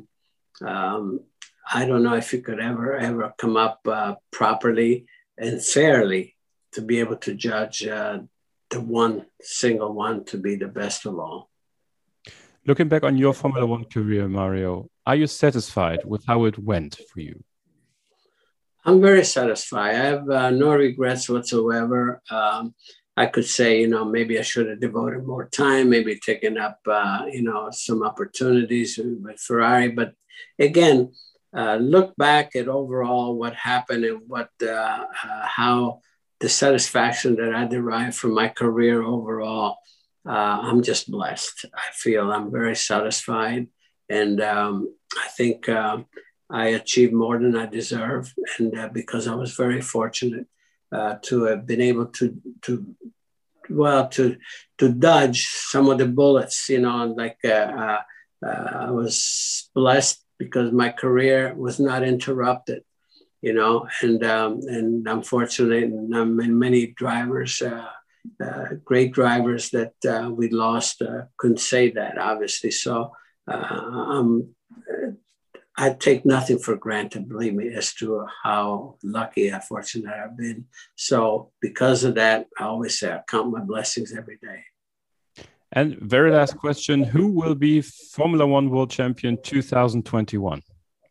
I don't know if you could ever come up properly and fairly to be able to judge the one single one to be the best of all. Looking back on your Formula One career, Mario, are you satisfied with how it went for you? I'm very satisfied. I have no regrets whatsoever. I could say, maybe I should have devoted more time, maybe taken up, some opportunities with Ferrari. But again, look back at overall what happened and how the satisfaction that I derived from my career overall. I'm just blessed. I feel I'm very satisfied. And I think I achieved more than I deserve. And because I was very fortunate to have been able to dodge some of the bullets, I was blessed because my career was not interrupted, and I'm fortunate, and many drivers, great drivers that we lost couldn't say that, obviously. So I take nothing for granted, believe me, as to how lucky and fortunate I've been. So because of that, I always say I count my blessings every day. And very last question, who will be Formula One World Champion 2021?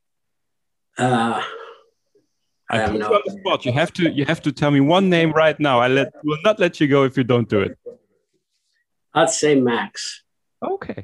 I put you on the spot. You have to tell me one name right now. Will not let you go if you don't do it. I'd say Max. Okay.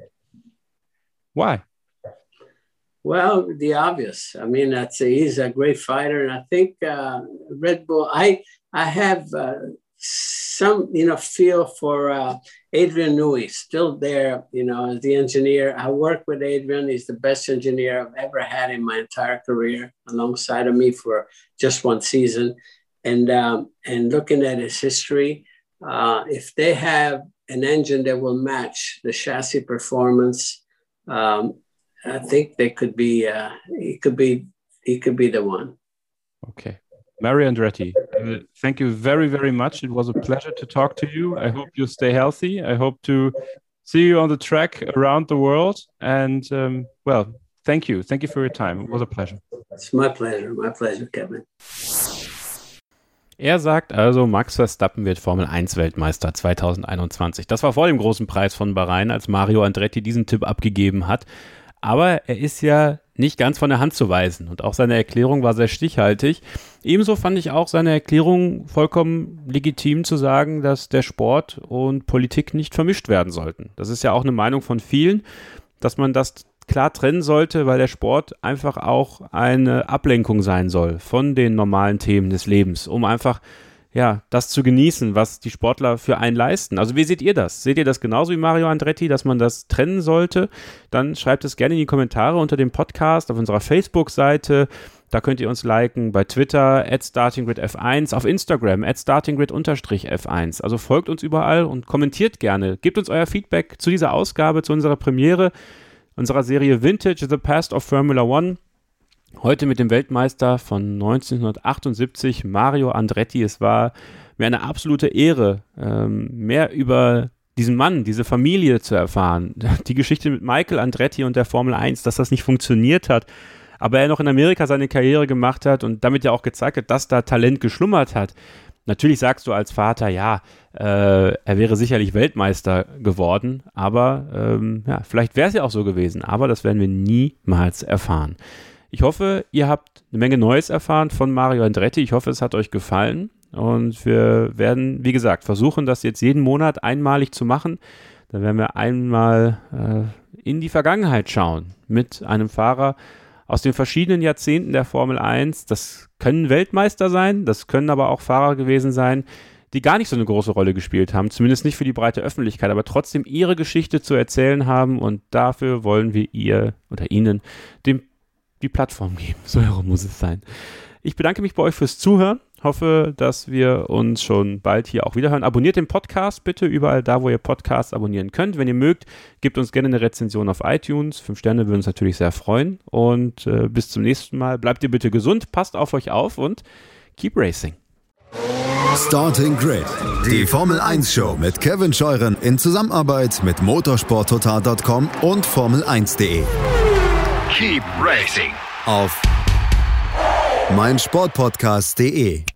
Why? Well, the obvious. I mean, he's a great fighter, and I think Red Bull. I have some feel for Adrian Newey, still there, as the engineer. I work with Adrian. He's the best engineer I've ever had in my entire career, alongside of me for just one season. And looking at his history, if they have an engine that will match the chassis performance, I think they could be. He could be the one. Okay, Mario Andretti, thank you very, very much. It was a pleasure to talk to you. I hope you stay healthy. I hope to see you on the track around the world. And thank you. Thank you for your time. It was a pleasure. It's my pleasure. My pleasure, Kevin. Er sagt also, Max Verstappen wird Formel-1-Weltmeister 2021. Das war vor dem großen Preis von Bahrain, als Mario Andretti diesen Tipp abgegeben hat. Aber er ist ja nicht ganz von der Hand zu weisen und auch seine Erklärung war sehr stichhaltig. Ebenso fand ich auch seine Erklärung vollkommen legitim zu sagen, dass der Sport und Politik nicht vermischt werden sollten. Das ist ja auch eine Meinung von vielen, dass man das klar trennen sollte, weil der Sport einfach auch eine Ablenkung sein soll von den normalen Themen des Lebens, um einfach das zu genießen, was die Sportler für einen leisten. Also wie seht ihr das? Seht ihr das genauso wie Mario Andretti, dass man das trennen sollte? Dann schreibt es gerne in die Kommentare unter dem Podcast auf unserer Facebook-Seite. Da könnt ihr uns liken bei Twitter @StartingGridF1, auf Instagram @StartingGrid_F1. Also folgt uns überall und kommentiert gerne. Gebt uns euer Feedback zu dieser Ausgabe, zu unserer Premiere, unserer Serie Vintage, The Past of Formula One. Heute mit dem Weltmeister von 1978, Mario Andretti. Es war mir eine absolute Ehre, mehr über diesen Mann, diese Familie zu erfahren. Die Geschichte mit Michael Andretti und der Formel 1, dass das nicht funktioniert hat, aber er noch in Amerika seine Karriere gemacht hat und damit ja auch gezeigt hat, dass da Talent geschlummert hat. Natürlich sagst du als Vater, er wäre sicherlich Weltmeister geworden, aber vielleicht wäre es ja auch so gewesen, aber das werden wir niemals erfahren. Ich hoffe, ihr habt eine Menge Neues erfahren von Mario Andretti. Ich hoffe, es hat euch gefallen. Und wir werden, wie gesagt, versuchen, das jetzt jeden Monat einmalig zu machen. Da werden wir einmal in die Vergangenheit schauen mit einem Fahrer aus den verschiedenen Jahrzehnten der Formel 1. Das können Weltmeister sein, das können aber auch Fahrer gewesen sein, die gar nicht so eine große Rolle gespielt haben, zumindest nicht für die breite Öffentlichkeit, aber trotzdem ihre Geschichte zu erzählen haben, und dafür wollen wir Ihnen die Plattform geben. So herum muss es sein. Ich bedanke mich bei euch fürs Zuhören. Hoffe, dass wir uns schon bald hier auch wieder hören. Abonniert den Podcast bitte überall da, wo ihr Podcasts abonnieren könnt. Wenn ihr mögt, gebt uns gerne eine Rezension auf iTunes. 5 Sterne würden uns natürlich sehr freuen. Und bis zum nächsten Mal. Bleibt ihr bitte gesund, passt auf euch auf und keep racing. Starting Grid, die Formel 1 Show mit Kevin Scheuren in Zusammenarbeit mit motorsporttotal.com und Formel1.de. Keep racing Auf meinsportpodcast.de.